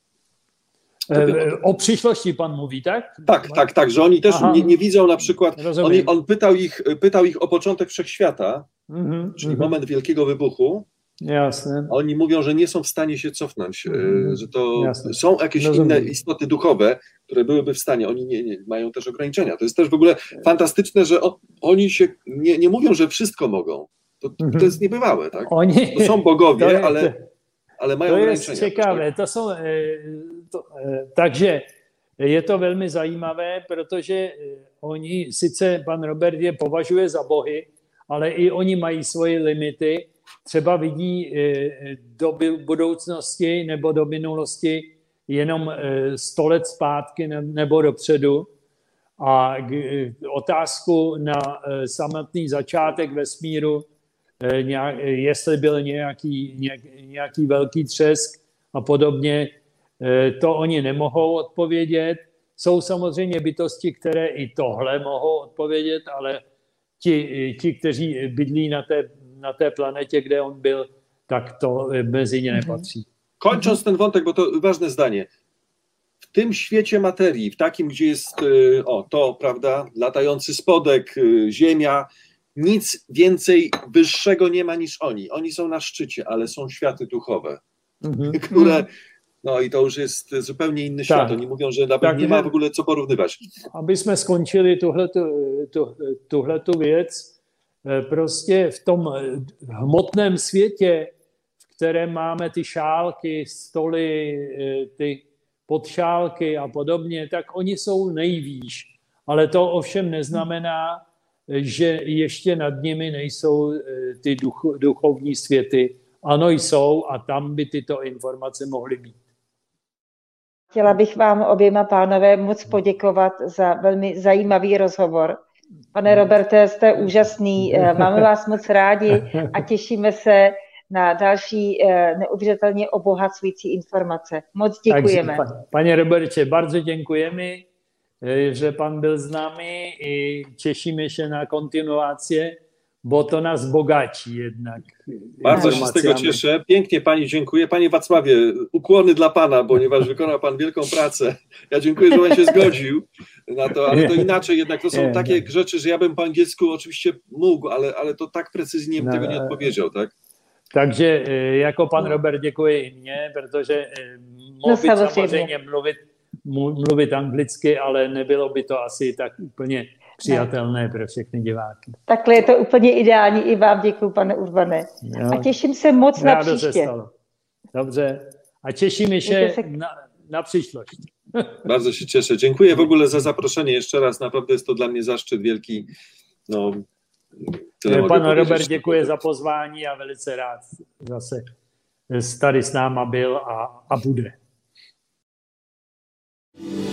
E, o przyszłości pan mówi, tak? Tak, tak, tak, że oni też nie, nie widzą na przykład, on, on pytał, ich, pytał ich o początek wszechświata, mm-hmm, czyli mm-hmm. moment wielkiego wybuchu. Jasne. Oni mówią, że nie są w stanie się cofnąć, mm-hmm. że to Jasne. Są jakieś Rozumiem. Inne istoty duchowe, które byłyby w stanie, oni nie, nie, mają też ograniczenia. To jest też w ogóle fantastyczne, że o, oni się nie, nie mówią, że wszystko mogą. To, mm-hmm. to jest niebywałe, tak? Oni, to są bogowie, to, ale, ale mają to ograniczenia. To jest ciekawe, to są... To, takže je to velmi zajímavé, protože oni, sice pan Robert je považuje za bohy, ale i oni mají svoje limity, třeba vidí do budoucnosti nebo do minulosti jenom sto let zpátky nebo dopředu a otázku na samotný začátek vesmíru, jestli byl nějaký, nějaký velký třesk a podobně, to oni nemohou odpovědět. Jsou samozřejmě bytosti, které i tohle mohou odpovědět, ale ti, ti kteří bydlí na té, na té planetě, kde on byl, tak to mezi ně nepatří. Kończąc ten wątek, bo to ważne zdanie. W tym świecie materii, w takim, gdzie jest o, to, prawda, latający spodek, Ziemia, nic więcej wyższego nie ma niż oni. Oni są na szczycie, ale są światy duchowe, mhm. które... No i to już jest zupełnie inny świat. Tak. Oni mówią, że nawet tak, nie ma w ogóle co porównywać. Abyśmy skończyli tuhletu věc, prostě v tom hmotném světě, v kterém máme ty šálky, stoly, ty podšálky a podobně, tak oni jsou nejvýš. Ale to ovšem neznamená, že ještě nad nimi nejsou ty duch, duchovní světy. Ano, jsou a tam by tyto informace mohly být. Chtěla bych vám oběma pánové moc poděkovat za velmi zajímavý rozhovor. Pane Roberte, jste úžasný, máme vás moc rádi a těšíme se na další neuvěřitelně obohacující informace. Moc děkujeme. Takže, pane Roberte, bardzo děkujeme, že pan byl s námi i těšíme się na kontynuację, bo to nas bogaci jednak. Bardzo się z tego cieszę. Pięknie Pani dziękuję. Panie Wacławie, ukłony dla Pana, ponieważ wykonał Pan wielką pracę. Ja dziękuję, że Pan się zgodził na to, ale to inaczej jednak. To są takie rzeczy, że ja bym po angielsku oczywiście mógł, ale, ale to tak precyzyjnie bym tego nie odpowiedział, tak? Takže jako pan Robert děkuji i mně, protože mohl no, být samozřejmě mluvit mluvit anglicky, ale nebylo by to asi tak úplně přijatelné pro všechny diváky. Takhle je to úplně ideální. I vám děkuju, pane Urbane. Jo. A těším se moc na Rádo příště. Se stalo. Dobře. A cieszymy się se... na, na przyszłość. Bardzo się cieszę. Dziękuję w ogóle za zaproszenie jeszcze raz. Naprawdę jest to dla mnie zaszczyt wielki. No, Pan Robert, děkuji za pozvání a velice rád zase tady s náma byl a, a bude.